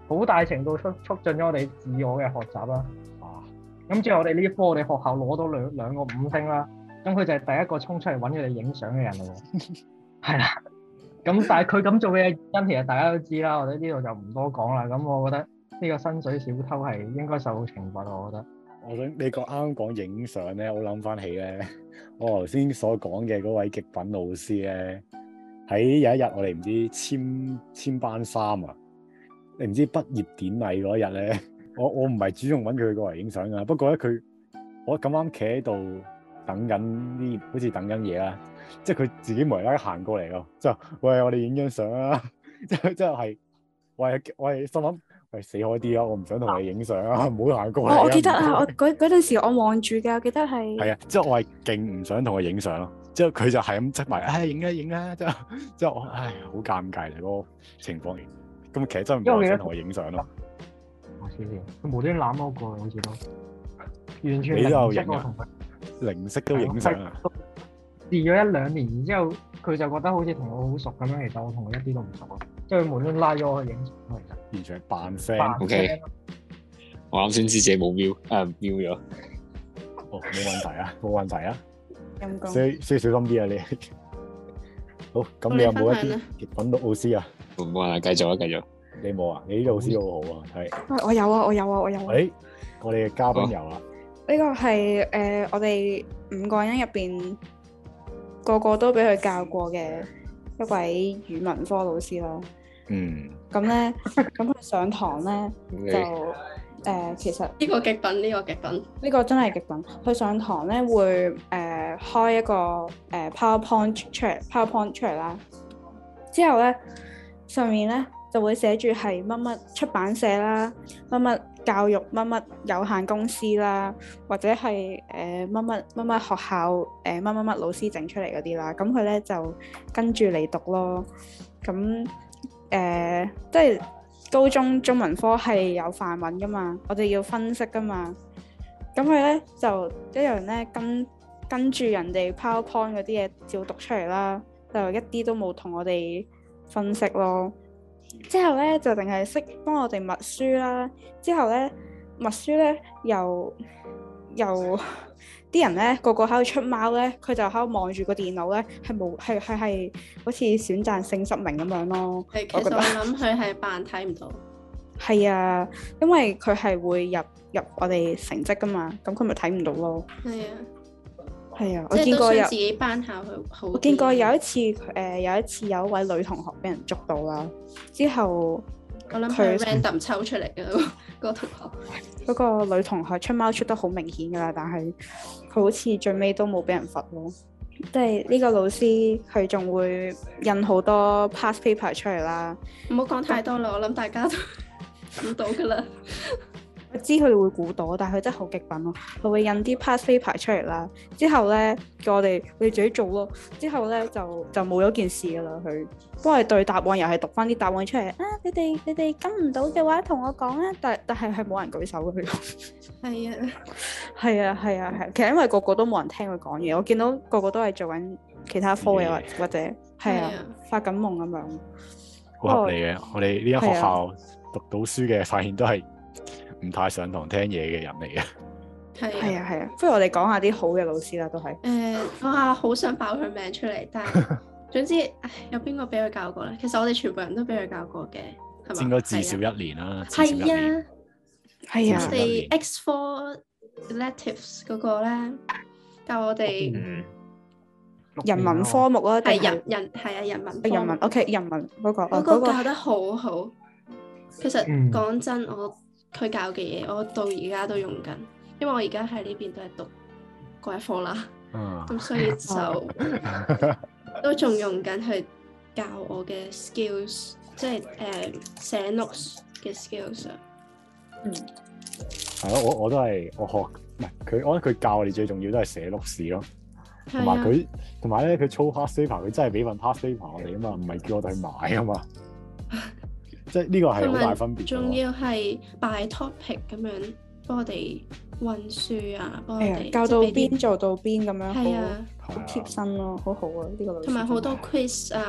好大程度促促進咗我哋自我嘅學習啦。咁之後我哋呢科我哋學校攞到兩兩個五星啦，咁佢就係第一個衝出嚟揾佢哋影相嘅人咯。係啦，咁但係佢咁做嘅原因其實大家都知啦，我哋呢度就唔多講啦。咁我覺得呢個薪水小偷係應該受到懲罰，我覺得。 我想你講啱啱講影相咧，我諗翻起咧，我頭先所講嘅嗰位極品老師咧，喺有一日我哋唔知簽簽班衫啊，你唔知畢業典禮嗰日咧。我我唔係主動揾佢過嚟影相噶，不過咧佢我咁啱企喺度等緊啲，好似等緊嘢啦，即係佢自己無啦啦行過嚟咯，就喂我哋影張相啊，即係即係喂我係心諗喂死開啲啊，我唔想同你影相啊，唔好行過嚟、啊。 我記得啊，我嗰嗰陣時我望住嘅，我記得係係啊，即係我係勁唔想同佢影相咯，之後佢就係咁執埋，唉影啊影啊，之後之後我唉好尷尬嚟嗰個情況，咁其實真係唔想同佢影相咯。 佢無端攬我過，好似都完全你都有影啊！ 零息都影相啊！ 試咗一兩年，然之後佢就覺得好似同我好熟咁樣，其實我同佢一啲都唔熟咯。即係佢無端拉咗我去影相，其實完全係扮 friend。O K， 我啱先知自己冇瞄，誒瞄咗。 哦，冇問題啊，冇問題啊。 陰公。 需需小心啲啊！你好，咁你有冇一啲極品老師啊？ 冇問題，繼續啊，繼續。 你冇啊？你啲老師好好啊，係。 我有啊，我有啊，我有啊。 誒，我哋嘅嘉賓有啊。 呢個係誒、呃，我哋五個人入邊個個都俾佢教過嘅一位語文科老師咯。 嗯。 咁咧，咁佢上堂咧就誒、呃，其實呢個極品，呢、這個極品， 呢個真係極品。佢上堂咧會誒、呃、開一個誒、呃、PowerPoint 出嚟，PowerPoint 出嚟啦。之後咧上面咧。就會寫住係乜乜出版社啦，乜乜教育乜乜有限公司啦，或者係誒乜乜乜乜學校誒乜乜乜老師整出嚟嗰啲啦，咁佢咧就跟住嚟讀咯。咁誒即係高中中文科係有範文噶嘛，我哋要分析噶嘛。咁佢咧就一樣咧跟跟住人哋 PowerPoint 嗰啲嘢照讀出嚟啦，就一啲都冇同我哋分析咯。之後咧就淨係識幫我哋默書啦。之後咧默書咧又又啲人咧個個喺度出貓咧，佢就喺度望住個電腦咧，係冇係係係好似選擇性失明咁樣咯。 係，其實我諗佢係扮睇唔到。係啊，因為佢係會入入我哋成績噶嘛，咁佢咪睇唔到咯。係啊。係啊，我見過有自己班考佢好。 我見過有一次，誒、呃、有一次有一位女同學俾人捉到啦。之後我諗佢 random 抽出嚟嘅嗰個同學。 嗰個女同學出貓出得好明顯㗎啦，但係佢好似最尾都冇俾人罰咯。即係呢個老師佢仲會印好多 past paper 出嚟啦。 唔好講太多啦，我諗大家都估到㗎啦。 我知佢哋會估到，但係佢真係好極品咯。佢會印啲 past paper 出嚟啦，之後咧叫我哋你自己做咯。之後咧就就冇咗件事噶啦。佢幫我哋對答案，又係讀翻啲答案出嚟啊！你哋你哋跟唔到嘅話，同我講啊。但但係係冇人舉手嘅佢。 係啊， 係啊，係啊，係。其實因為個個都冇人聽佢講嘢，我見到個個都係做緊其他科嘅，或或者係啊發緊夢咁樣。 好合理嘅，我哋呢間學校讀到書嘅，發現都係唔太上堂聽嘢嘅人嚟嘅。 係係啊係啊，不如我哋講下啲好嘅老師啦，都係。 誒，哇，好想爆佢名出嚟，但係總之，唉，有邊個俾佢教過咧？其實我哋全部人都俾佢教過嘅，係嘛？ 應該至少一年啦。 係啊， 係啊。 我哋 X four electives 嗰個咧教我哋人文科目啦， 係人人係啊人文人文 OK 人文嗰個嗰個教得好好。其實講真，我佢教嘅嘢，我到而家都用緊，因為我而家喺呢邊都係讀嗰一科啦，咁、嗯、所以就都仲用緊去教我嘅 skills， 即係誒、呃、寫 notes 嘅 skills。 嗯， 係咯，我我都係我學唔係佢，我覺得佢教我哋最重要都係寫 notes 咯，同埋佢同埋咧佢操 past paper，佢真係俾份 past paper 我哋啊嘛，唔係叫我哋去買啊嘛。即係呢個係好大分別。 仲要係 by topic 咁樣幫我哋溫書啊，幫我哋教到邊做到邊咁樣， 係啊， 好貼身咯，好好啊呢個老師。 同埋好多 quiz 啊，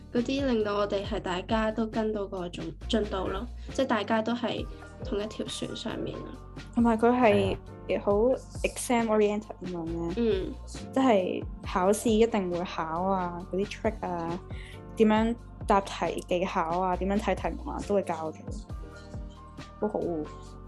嗰啲令到我哋係大家都跟到個進進度咯，即係大家都係同一條船上面咯。 同埋佢係好 exam oriented 咁樣嘅， 嗯， 即係考試一定會考啊，嗰啲 trick 啊，點樣答題技巧啊，點樣睇題目啊，都會教我哋，好好喎。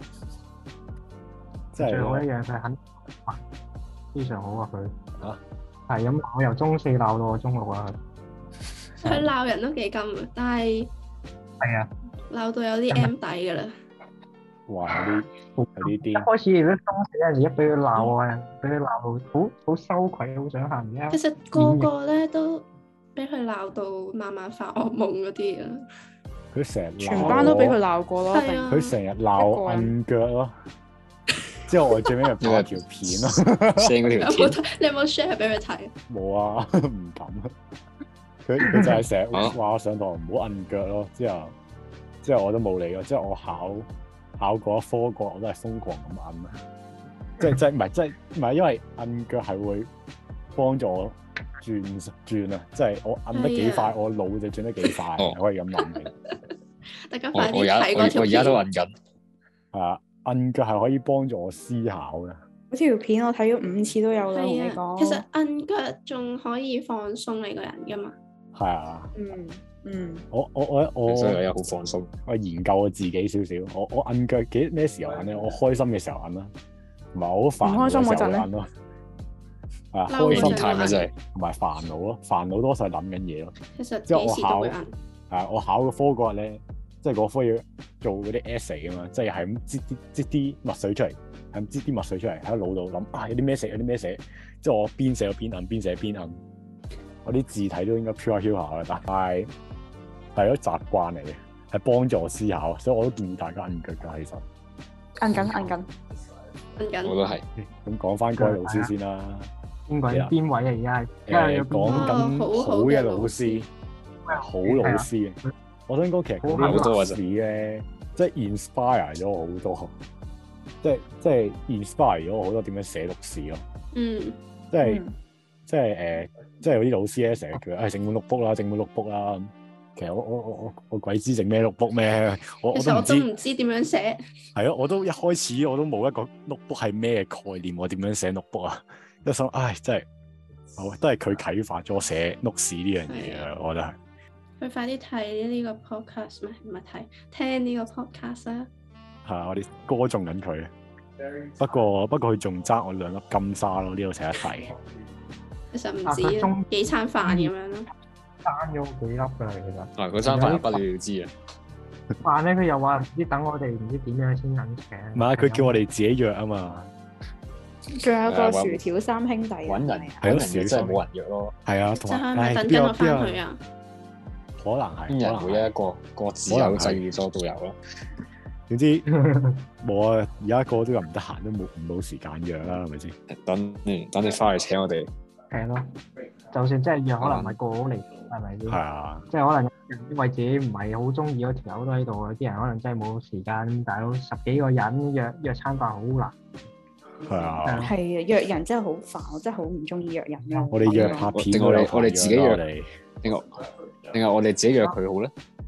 即係最好一樣佢係肯，非常好啊佢。嚇，係咁，我由中四鬧到我中六啊。 佢鬧人都幾金啊，但係係啊， 鬧到有啲 M 底㗎啦。 哇！有啲有啲啲。 一開始如果中四嗰陣時，一俾佢鬧啊，俾佢鬧到好好羞愧，好想喊嘅。 其實個個咧都俾佢鬧到晚晚發噩夢嗰啲啊。 佢成日全班都俾佢鬧過咯， 佢成日鬧摁腳咯。之後我最尾咪拍條片咯，send 嗰條片。 你有冇 share 俾佢睇？ 冇啊，唔敢啊。佢佢就係成日話我上堂唔好摁腳咯。之後之後我都冇理咯。之後我考考過一科個我都係瘋狂咁摁啊。即係即係唔係即係唔係因為摁腳係會幫助我轉轉啊！即係我摁得幾快，我腦就轉得幾快，可以咁諗嘅。 大家快啲睇嗰條片。 我而家都摁緊。 係啊。摁腳係可以幫助我思考嘅。 嗰條片我睇咗五次都有啦，同你講。 其實摁腳仲可以放鬆你個人噶嘛。 係啊。 嗯嗯。 我我我我。 所以我又好放鬆。 我研究我自己少少。我我摁腳幾咩時候摁咧？我開心嘅時候摁啦，同埋我好煩嘅時候摁咯。係啊，開心太咪真係。同埋煩惱咯，煩惱多數係諗緊嘢咯。 其實即係我考。 係啊！我考個科嗰日咧。即係嗰科要做嗰啲 essay 啊嘛，即係係咁擠啲擠啲墨水出嚟，係咁擠啲墨水出嚟喺個腦度諗啊，有啲咩寫有啲咩寫，即係我邊寫邊摁，邊寫邊摁，我啲字體都應該飄下飄下嘅，但係係一習慣嚟嘅，係幫助我思考，所以我都建議大家摁腳㗎，其實摁緊摁緊摁緊， 我都係。 咁講翻嗰位老師先啦， 邊位邊位啊？而家係誒講緊好嘅老師，好老師嘅。我想講其實嗰啲老師咧，即係 inspire 咗我好多，即係即係 inspire 咗我好多點樣寫錄事咯。 嗯， 即係即係誒，即係有啲老師咧成日叫誒整本 notebook 啦，整本 notebook 啦。其實我我我我我鬼知整咩 notebook 咩？我其實我都唔知點樣寫。係咯，我都一開始我都冇一個 notebook 係咩概念，我點樣寫 notebook 啊？一想唉，真係，好都係佢啟發咗我寫 notes 呢樣嘢啊！我覺得係。 佢快啲睇呢個 podcast 咩？唔係睇，聽呢個 podcast 啊！ 係啊，我哋歌頌緊佢。不過不過佢仲爭我兩粒金沙咯，呢度寫一題。 其實唔止啊，幾餐飯咁樣咯。 爭咗幾粒㗎啦，其實。 啊，嗰餐飯不了了之啊！ 飯咧，佢又話唔知等我哋唔知點樣先肯請。 唔係，佢叫我哋自己約啊嘛。 仲有個薯條三兄弟。 揾人係咯， 真係冇人約咯。 係啊， 同埋等緊我翻去啊！ 可能係， 邊人會一個各自有制作都有咯。 總之冇啊！而家個個都又唔得閒，都冇冇時間約啦，係咪先？ 等嗯，等你翻去請我哋。 係咯，就算真係約，可能唔係個個嚟，係咪先？ 係啊。即係可能因為自己唔係好中意嗰條友都喺度，有啲人可能真係冇時間。大佬十幾個人約約餐飯好難。 係啊。係啊，約人真係好煩，我真係好唔中意約人咯。 我哋約拍片， 我哋我哋自己約嚟。 定係定係我哋自己約佢好咧？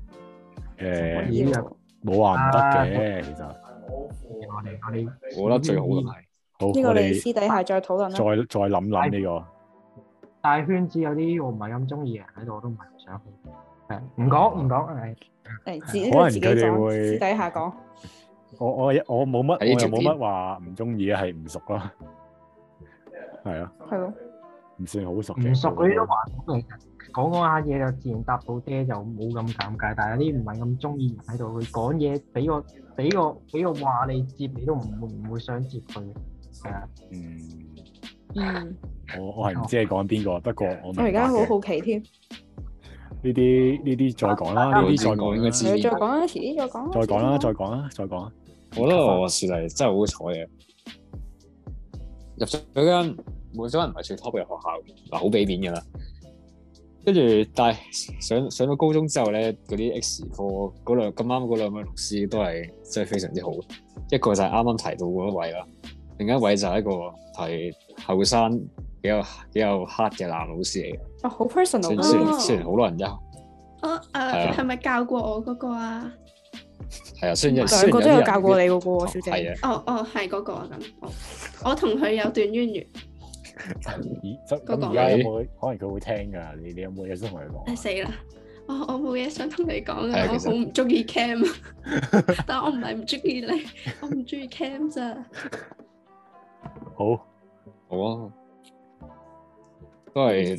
誒，冇話唔得嘅，其實。 我哋我哋， 我覺得最好嘅係。 好， 呢個我哋私底下再討論啦。 再再諗諗呢個。 大圈子有啲我唔係咁中意嘅人喺度，我都唔係唔想去。係唔講唔講係。 誒，自己自己講，私底下講。 我我我冇乜，我又冇乜話唔中意嘅，係唔熟咯。係啊。 係咯。 唔算好熟嘅。 唔熟嗰啲都還好嘅。講講下嘢就自然答到爹，就冇咁尷尬。但係有啲唔係咁中意人喺度，佢講嘢俾個俾個俾個話你接，你都唔會唔會想接佢。係啊。嗯。 嗯。 我我係唔知你講緊邊個，不過我我而家好好奇添。 呢啲呢啲再講啦，呢啲再講應該知。 再講啦，遲啲再講。 再講啦，再講啦，再講。 我覺得我算係真係好彩嘅，入咗嗰間冇咗人唔係最 top 嘅學校，嗱好俾面㗎啦。跟住，但係上上到高中之後咧，嗰啲 X 科嗰兩咁啱嗰兩位老師都係真係非常之好。一個就係啱啱提到嗰一位啦，另一位就係一個係後生比較比較黑嘅男老師嚟嘅。 啊，好 personal 雖然雖然好多人有， 哦誒，係咪教過我嗰個啊？ 係啊，雖然兩個都有教過你嗰個喎，小姐。 係啊。 哦哦，係嗰個咁。我我同佢有段淵源。 咦？咁而家有冇？可能佢會聽㗎。你你有冇嘢想同佢講？ 死啦！我我冇嘢想同你講啊！我好唔中意 cam 啊，但我唔係唔中意你，我唔中意 cam 咋。 好， 好啊，都係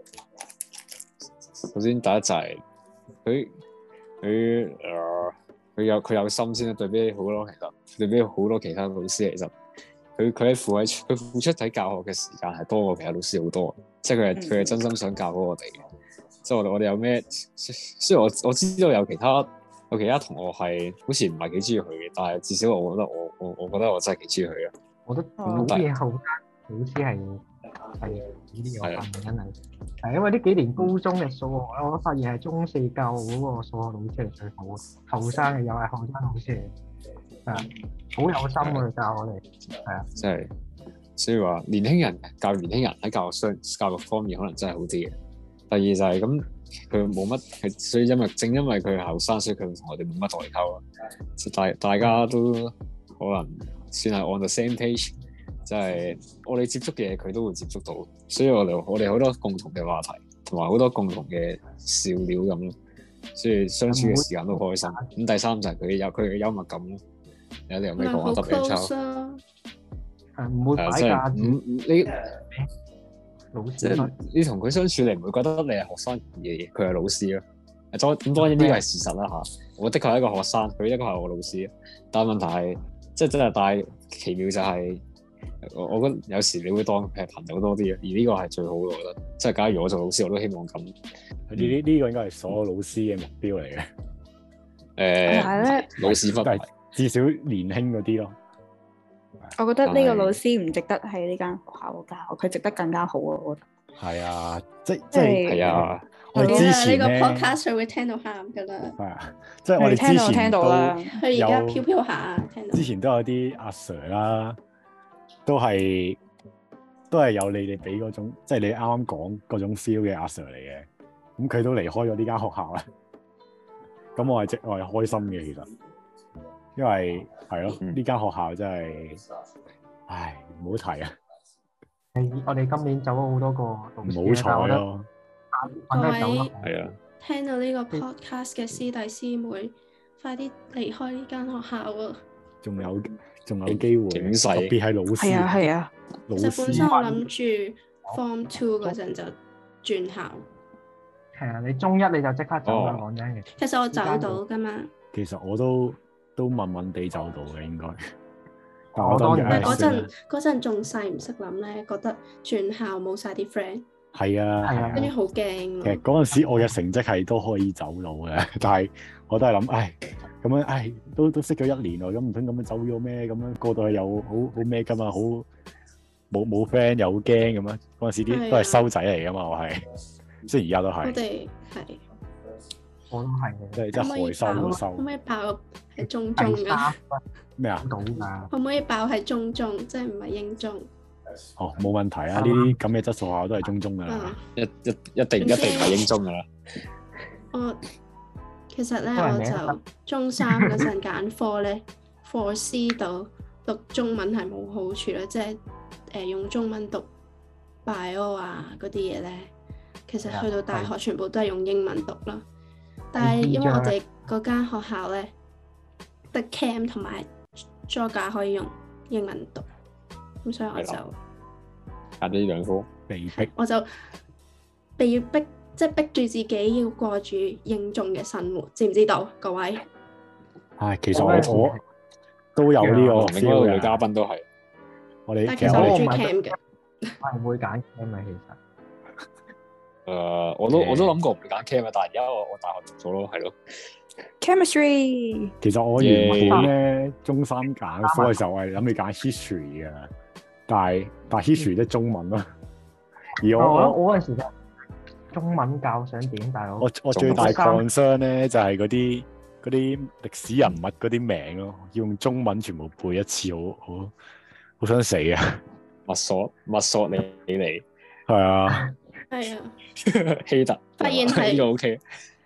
首先第一就係佢佢誒佢有佢有心先啦，對比好多其實對比好多其他老師其實佢佢喺付喺佢付出喺教學嘅時間係多過其他老師好多，即係佢係佢係真心想教好我哋嘅。即係我哋我哋有咩？雖然我我知道有其他有其他同學係好似唔係幾中意佢嘅，但係至少我覺得我我我覺得我真係幾中意佢啊！ 我覺得好嘢後生老師係係呢啲有份真係係因為呢幾年高中嘅數學咧，我都發現係中四教嗰個數學老師係最好嘅，後生嘅又係後生老師嚟，係啊，好有心去教我哋，係啊， 即係所以話年輕人教年輕人喺教學上教育方面可能真係好啲嘅。第二就係咁，佢冇乜，係所以因為正因為佢係後生，所以佢同我哋冇乜代溝咯。即大大家都可能算係 on the same page，即係我哋接觸嘅嘢佢都會接觸到，所以我哋我哋好多共同嘅話題，同埋好多共同嘅笑料咁咯。所以相處嘅時間都開心。咁第三就係佢有佢嘅幽默感咯。有你有咩講啊？特別抽係唔會擺架子你。 老師即係你同佢相處，你唔會覺得你係學生而佢係老師咯。咁當然呢個係事實啦嚇。我的確係一個學生，佢一個係我老師。但係問題係，即係真係大奇妙就係，我我覺得有時你會當佢係朋友多啲，而呢個係最好嘅，我覺得。即係假如我做老師，我都希望咁。呢呢呢個應該係所有老師嘅目標嚟嘅。誒、 呃，老師分別至少年輕嗰啲咯。 我覺得呢個老師唔值得喺呢間學校教，佢值得更加好啊！我覺得係啊，即即係係啊， 我哋之前呢個 podcast 會聽到喊噶啦。 係啊，即係我哋之前聽到啦， 佢而家飄飄下聽到。 之前都有啲阿 Sir 啦，都係都係有你哋俾嗰種，即係你啱啱講嗰種 feel 嘅阿 Sir 嚟嘅。咁佢都離開咗呢間學校啦。咁我係即我係開心嘅，其實。因為係咯，呢間、嗯、學校真係，唉，唔好提啊！ 我哋今年走咗好多個老師， 唔好彩咯。 各位係啊， 聽到呢個 podcast 嘅師弟師妹，快啲離開呢間學校啊！ 仲有仲有機會，特別係老師。 係啊係啊， 老師。 其實本身我諗住 form two 嗰陣就轉校。 係啊，你中一你就即刻走啦，講真嘅。 其實我走到噶嘛。 其實我都。都問問地走到嘅應該，但我當然嗰陣嗰陣仲細唔識諗咧，覺得轉校冇晒啲 friend。 係啊，係啊， 跟住好驚。 其實嗰陣時我嘅成績係都可以走到嘅，但係我都係諗，唉，咁樣唉，都都識咗一年喎，咁唔通咁樣走咗咩？咁樣過到去又好好咩㗎嘛？好冇冇 friend 又好驚咁樣。嗰陣時啲都係收仔嚟㗎嘛，我係，雖然而家都係。 我哋係。 我都係嘅， 即係即係害羞都收。 可唔可以爆係中中㗎？ 咩啊？ 到㗎。 可唔可以爆係中中，即係唔係英中？ 哦，冇問題啊！呢啲咁嘅質素學校都係中中㗎啦， 一一一定一定唔係英中㗎啦。 我其實咧，我就中三嗰陣揀科咧，課 C 度讀中文係冇好處啦，即係誒用中文讀 bio 啊嗰啲嘢咧，其實去到大學全部都係用英文讀啦。但係因為我哋嗰間學校咧，得 Cam 同埋 Geog 可以用英文讀，咁所以我就揀咗呢兩科， 被逼， 我就被逼，即係逼住自己要過住英中嘅生活，知唔知道各位？ 唉，其實我我都有呢個 feel 嘅， 女嘉賓都係我哋， 但其實我中意 Cam 嘅， 我係會揀 Cam 嘅其實。 誒、uh，我都我都諗過唔會揀 chem 啊，但係而家我我大學讀咗咯，係咯。 Chemistry。 其實我原本咧中三揀科嘅時候，我係諗住揀 history 嘅，但係但係 history 即係中文咯。而我我我嗰陣時咧，中文教想點，但係我我我最大 concern 咧就係嗰啲嗰啲歷史人物嗰啲名咯，要用中文全部背一次，好好好想死啊！ 墨索墨索里尼， 係啊。 係啊， 希特發現係呢個 OK，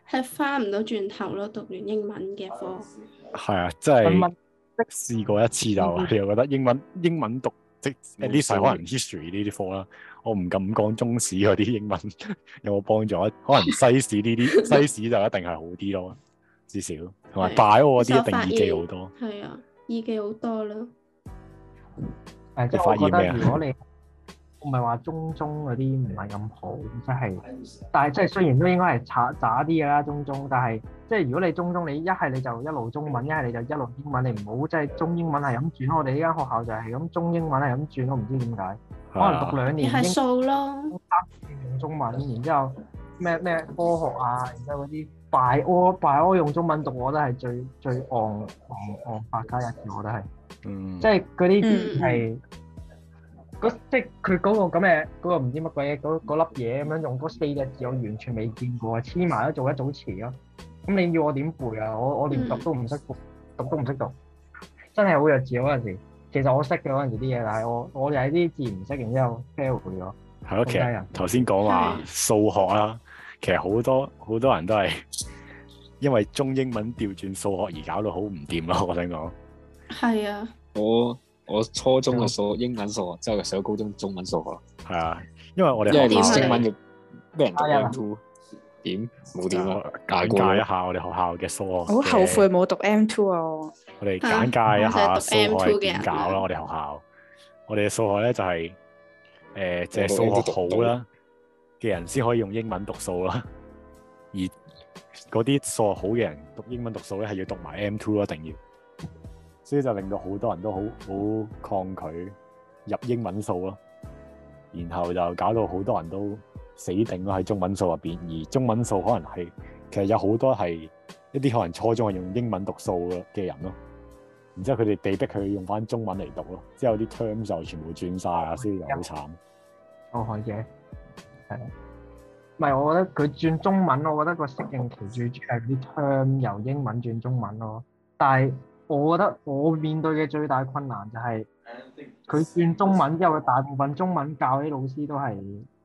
係翻唔到轉頭咯，讀完英文嘅科。 係啊，即係試過一次就，你又覺得英文英文讀即係呢世可能 history 呢啲科啦，我唔敢講中史嗰啲英文有冇幫助，可能西史呢啲西史就一定係好啲咯，至少同埋 bio 嗰啲一定易記好多。 係啊，易記好多啦。 誒，即係我覺得如果你我唔係話中中嗰啲唔係咁好，即係，但係即係雖然都應該係渣渣啲嘅啦，中中，但係即係如果你中中，你一係你就一路中文，一係你就一路英文，你唔好即係中英文係咁轉。我哋呢間學校就係咁中英文係咁轉，都唔知點解。可能讀兩年英係數咯， 用中文，然之後咩咩科學啊，然之後嗰啲 bio bio 用中文讀，我覺得係最最戇戇戇百家一字，我覺得係，嗯，即係嗰啲係。即係佢嗰個咁嘅嗰個唔知乜鬼嘢嗰嗰粒嘢咁樣用嗰四隻字，我完全未見過啊！黐埋都做一組詞咯。咁你要我點背啊？我我連讀都唔識讀，讀都唔識讀，真係好弱智嗰陣時。其實我識嘅嗰陣時啲嘢，但係我我又係啲字唔識，然之後 fail 咗。 係咯，其實頭先講話數學啦，其實好多好多人都係因為中英文調轉數學而搞到好唔掂咯。我想講係啊， 我。我初中嘅數英文數學，之後上高中中文數學。係啊，因為我哋因為練英文要俾人讀 M two， 點冇點啊？ 簡介一下我哋學校嘅數學。 好後悔冇讀 M two 啊！ 我哋簡介一下數學係點搞啦？我哋學校，我哋嘅數學咧就係誒，即係數學好啦嘅人先可以用英文讀數啦，而嗰啲數學好嘅人讀英文讀數咧係要讀埋 M two 咯，一定要。所以就令到好多人都好好抗拒入英文數咯，然後就搞到好多人都死定咯喺中文數入邊，而中文數可能係其實有好多係一啲可能初中係用英文讀數嘅人咯，然之後佢哋被逼佢用翻中文嚟讀咯，之後啲 term 就全部轉晒啊，所以就好慘。 受害者係，唔係我覺得佢轉中文，我覺得個適應期最主要係啲 term 由英文轉中文咯，但係。我覺得我面對嘅最大困難就係佢轉中文之後，大部分中文教啲老師都係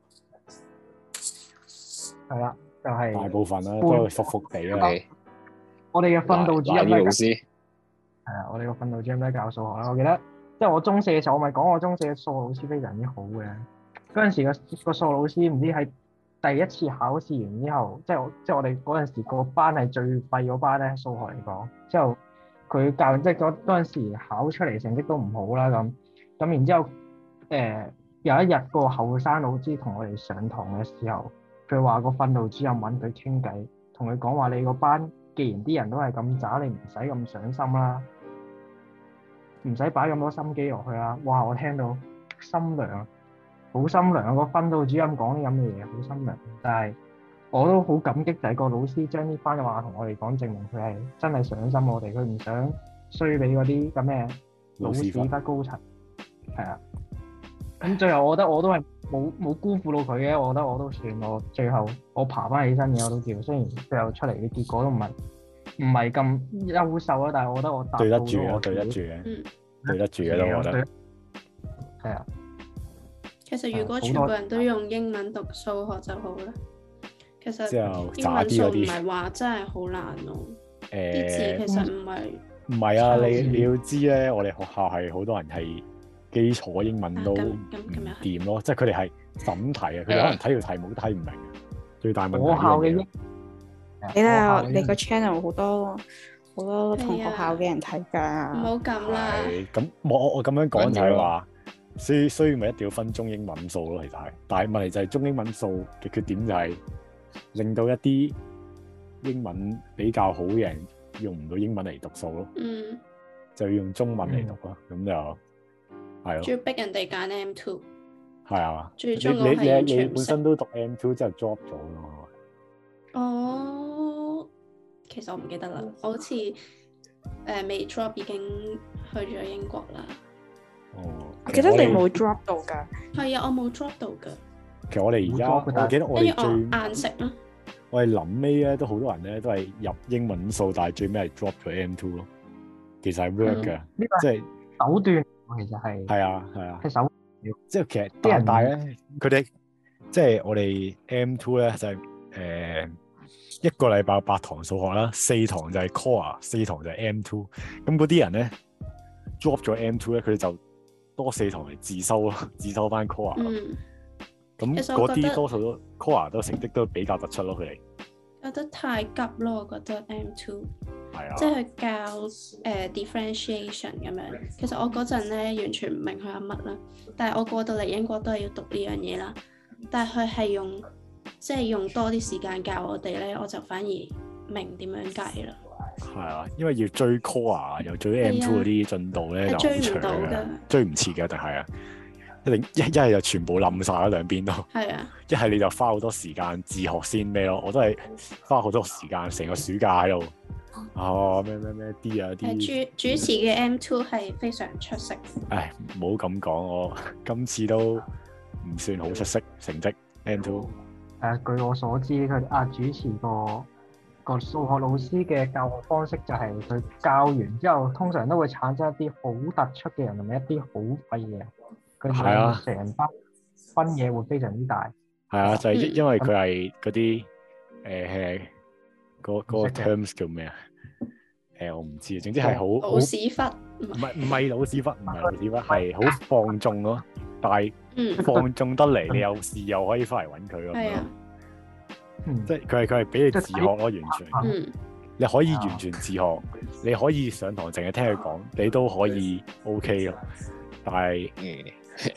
係啦，就係、是、 大部分啦，都係服服地啦。 我哋嘅訓導主任老師係啊，我哋個訓導主任都係教數學啦。我記得即係我中四嘅時候，我咪講我中四嘅數學老師非常之好嘅。嗰陣時個個數學老師唔知喺第一次考試完之後，即係我即係我哋嗰陣時個班係最廢嗰班咧，數學嚟講之後。佢教即係嗰嗰陣時考出嚟成績都唔好啦，咁咁然之後誒、呃、有一日個後生老師同我哋上堂嘅時候，佢話個訓導主任揾佢傾偈，同佢講話你個班既然啲人都係咁渣，你唔使咁上心啦，唔使擺咁多心機落去啦。哇！我聽到心涼，好心涼啊！個訓導主任講啲咁嘅嘢好心涼，但係。我都好感激，就係個老師將呢番嘅話同我哋講，證明佢係真係上心我哋，佢唔想衰俾嗰啲咁嘅老屎忽高層。係啊，咁最後我覺得我都係冇冇辜負到佢嘅，我覺得我都算我最後我爬翻起身嘅我都叫，雖然最後出嚟嘅結果都唔係唔係咁優秀啊，但係我覺得我達到對得住嘅，對得住嘅，嗯、對得住嘅都我覺得係啊。 其實如果全部人都用英文讀數學就好啦。其實英文數唔係話真係好難咯，啲字其實唔係唔係啊！你你要知咧，我哋學校係好多人係基礎英文都唔掂咯，即係佢哋係審題啊，佢哋可能睇條題目都睇唔明。最大問題係學校嘅英， 你睇你個 channel 好多好多同學校嘅人睇㗎， 唔好咁啦。 咁我我咁樣講就係話，所以所以咪一定要分中英文數咯，其實係。但係問題就係中英文數嘅缺點就係。令到一啲英文比較好嘅人用唔到英文嚟讀數咯，嗯，就要用中文嚟讀咯，咁、嗯、就係咯。仲要逼人哋揀 M two， 係啊， 最終你你你你本身都讀 M two 之後 drop 咗咯。 哦，其實我唔記得啦，我好似誒未 drop 已經去咗英國啦。 哦， 我記得你冇 drop 到㗎。 係啊，我冇 drop 到㗎。 其實我哋而家，我記得我哋最硬食咯。 我哋臨尾咧，都好多人咧都係入英文數，但係最尾係 drop 咗 M two 咯。其實係 work 嘅，即係手段。其實係係啊係啊， 係手段。 即係其實啲人大咧，佢哋即係我哋 M two 咧就係誒一個禮拜八堂數學啦，四堂就係 core， 四堂就係 M two。咁嗰啲人咧 drop 咗 M two 咧，佢哋就多四堂嚟自修咯，自修翻 core 咯。咁嗰啲多數都 core 都成績都比較突出咯，佢哋。 覺得太急咯，我覺得 M two， 係啊， 即係教誒、uh, differentiation 咁樣。其實我嗰陣咧完全唔明佢有乜啦，但係我過到嚟英國都係要讀呢樣嘢啦。但係佢係用即係用多啲時間教我哋咧，我就反而明點樣計啦。 係啊，因為要追 core 又追 M two 嗰啲進度咧就好長嘅，追唔切嘅，定係啊。一定一一係就全部冧晒啦，兩邊都。係啊。一係你就花好多時間自學先咩咯？我都係花好多時間，成個暑假喺度。哦，咩咩咩 D 啊 D。 主主持嘅 M two 係非常出色。 唉，唔好咁講，我今次都唔算好出色成績 M two。 誒，據我所知，佢啊主持個個數學老師嘅教學方式就係佢教完之後，通常都會產生一啲好突出嘅人，同埋一啲好廢嘅人。係啊，成班分野會非常之大。 係啊，就係、是、因為佢係嗰啲誒嗰嗰個 terms 叫咩啊？誒、呃、我唔知，總之係好老屎忽， 唔係唔係老屎忽，唔係老屎忽，係好放縱咯。但係放縱得嚟，你有事又可以翻嚟揾佢咁樣。嗯、即係佢係佢係俾你自學咯，完全。嗯、你可以完全自學，你可以上堂淨係聽佢講，你都可以 OK 咯。但係嗯。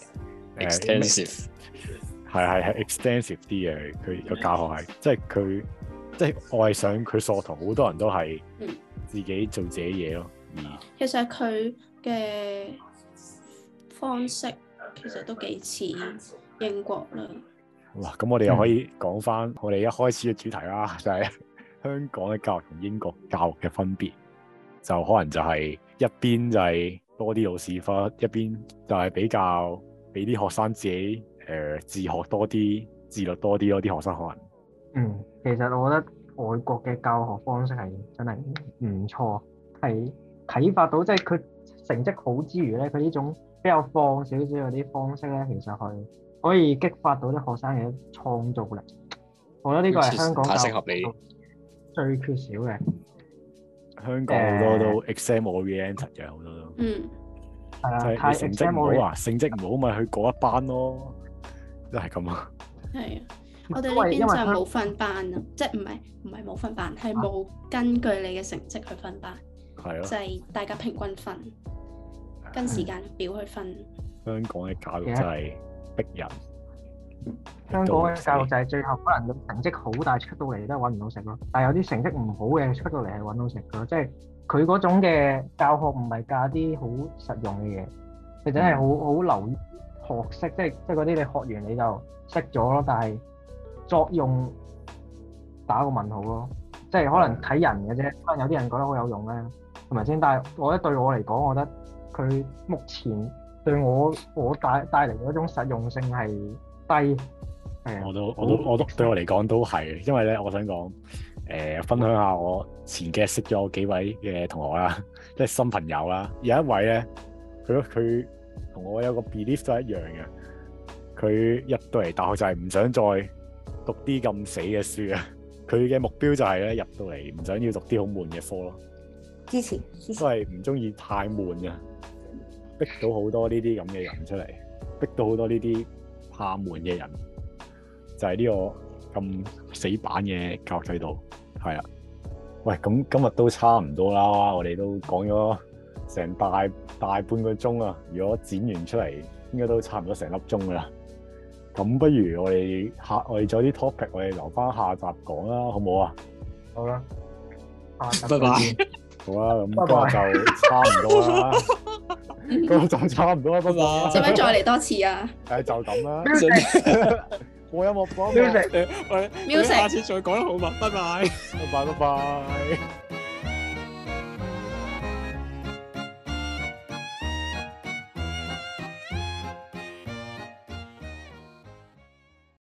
extensive 係係係 extensive 啲嘅，佢個教學係即係佢即係我係想佢課堂好多人都係自己做自己嘢咯。嗯， 其實佢嘅方式其實都幾似英國啦。 哇！咁我哋又可以講翻我哋一開始嘅主題啦，就係香港嘅教育同英國教育嘅分別，就可能就係一邊就係多啲老屎忽，一邊就係比較俾啲學生自己誒、呃、自學多啲、自律多啲咯。啲學生可能嗯，其實我覺得外國嘅教學方式係真係唔錯，係啟發到即係佢成績好之餘咧，佢呢種比較放少少嗰啲方式咧，其實係可以激發到啲學生嘅創造力。我覺得呢個係香港教育最缺少嘅。 香港好多都 exam oriented 嘅，好多都， 嗯，係啊， 就係你成績唔好啊，成績唔好咪去嗰一班咯，都係咁啊。 係啊，我哋呢邊就冇分班啊，即係唔係唔係冇分班，係冇根據你嘅成績去分班，係咯，就係大家平均分，跟時間表去分。香港嘅教育就係逼人。 香港嘅教育就係最後可能成績好，但係出到嚟都係揾唔到食咯。但係有啲成績唔好嘅出到嚟係揾到食咯。即係佢嗰種嘅教學唔係教啲好實用嘅嘢，佢真係好好留意學識，即係即係嗰啲你學完你就識咗咯。但係作用打個問號咯，即係可能睇人嘅啫。可能有啲人覺得好有用咧，係咪先？但係我覺得對我嚟講，我覺得佢目前對我我帶帶嚟嗰種實用性係低。 我都我都我都對我嚟講都係，因為咧，我想講誒、呃，分享下我前幾日識咗幾位嘅同學啦，即係新朋友啦。有一位咧，佢佢同我有個 belief 都係一樣嘅。佢入到嚟大學就係唔想再讀啲咁死嘅書啊。佢嘅目標就係咧，入到嚟唔想要讀啲好悶嘅科咯。 支持，支持都係唔中意太悶嘅，逼到好多呢啲咁嘅人出嚟，逼到好多呢啲怕悶嘅人。就係呢個咁死板嘅教育制度，係啊。喂，咁今日都差唔多啦，我哋都講咗成大大半個鐘啊。如果剪完出嚟，應該都差唔多成粒鐘噶啦。咁不如我哋下我哋仲有啲 topic，我哋留翻下集講啦，好唔好啊？ 好啦， 拜拜。 好啦，咁今日就差唔多啦。今日就差唔多啦，拜拜。 使唔使再嚟多次啊？ 誒，就咁啦。播音樂講 music， 我哋下次再講啦，好嘛？拜拜， 拜拜，拜拜。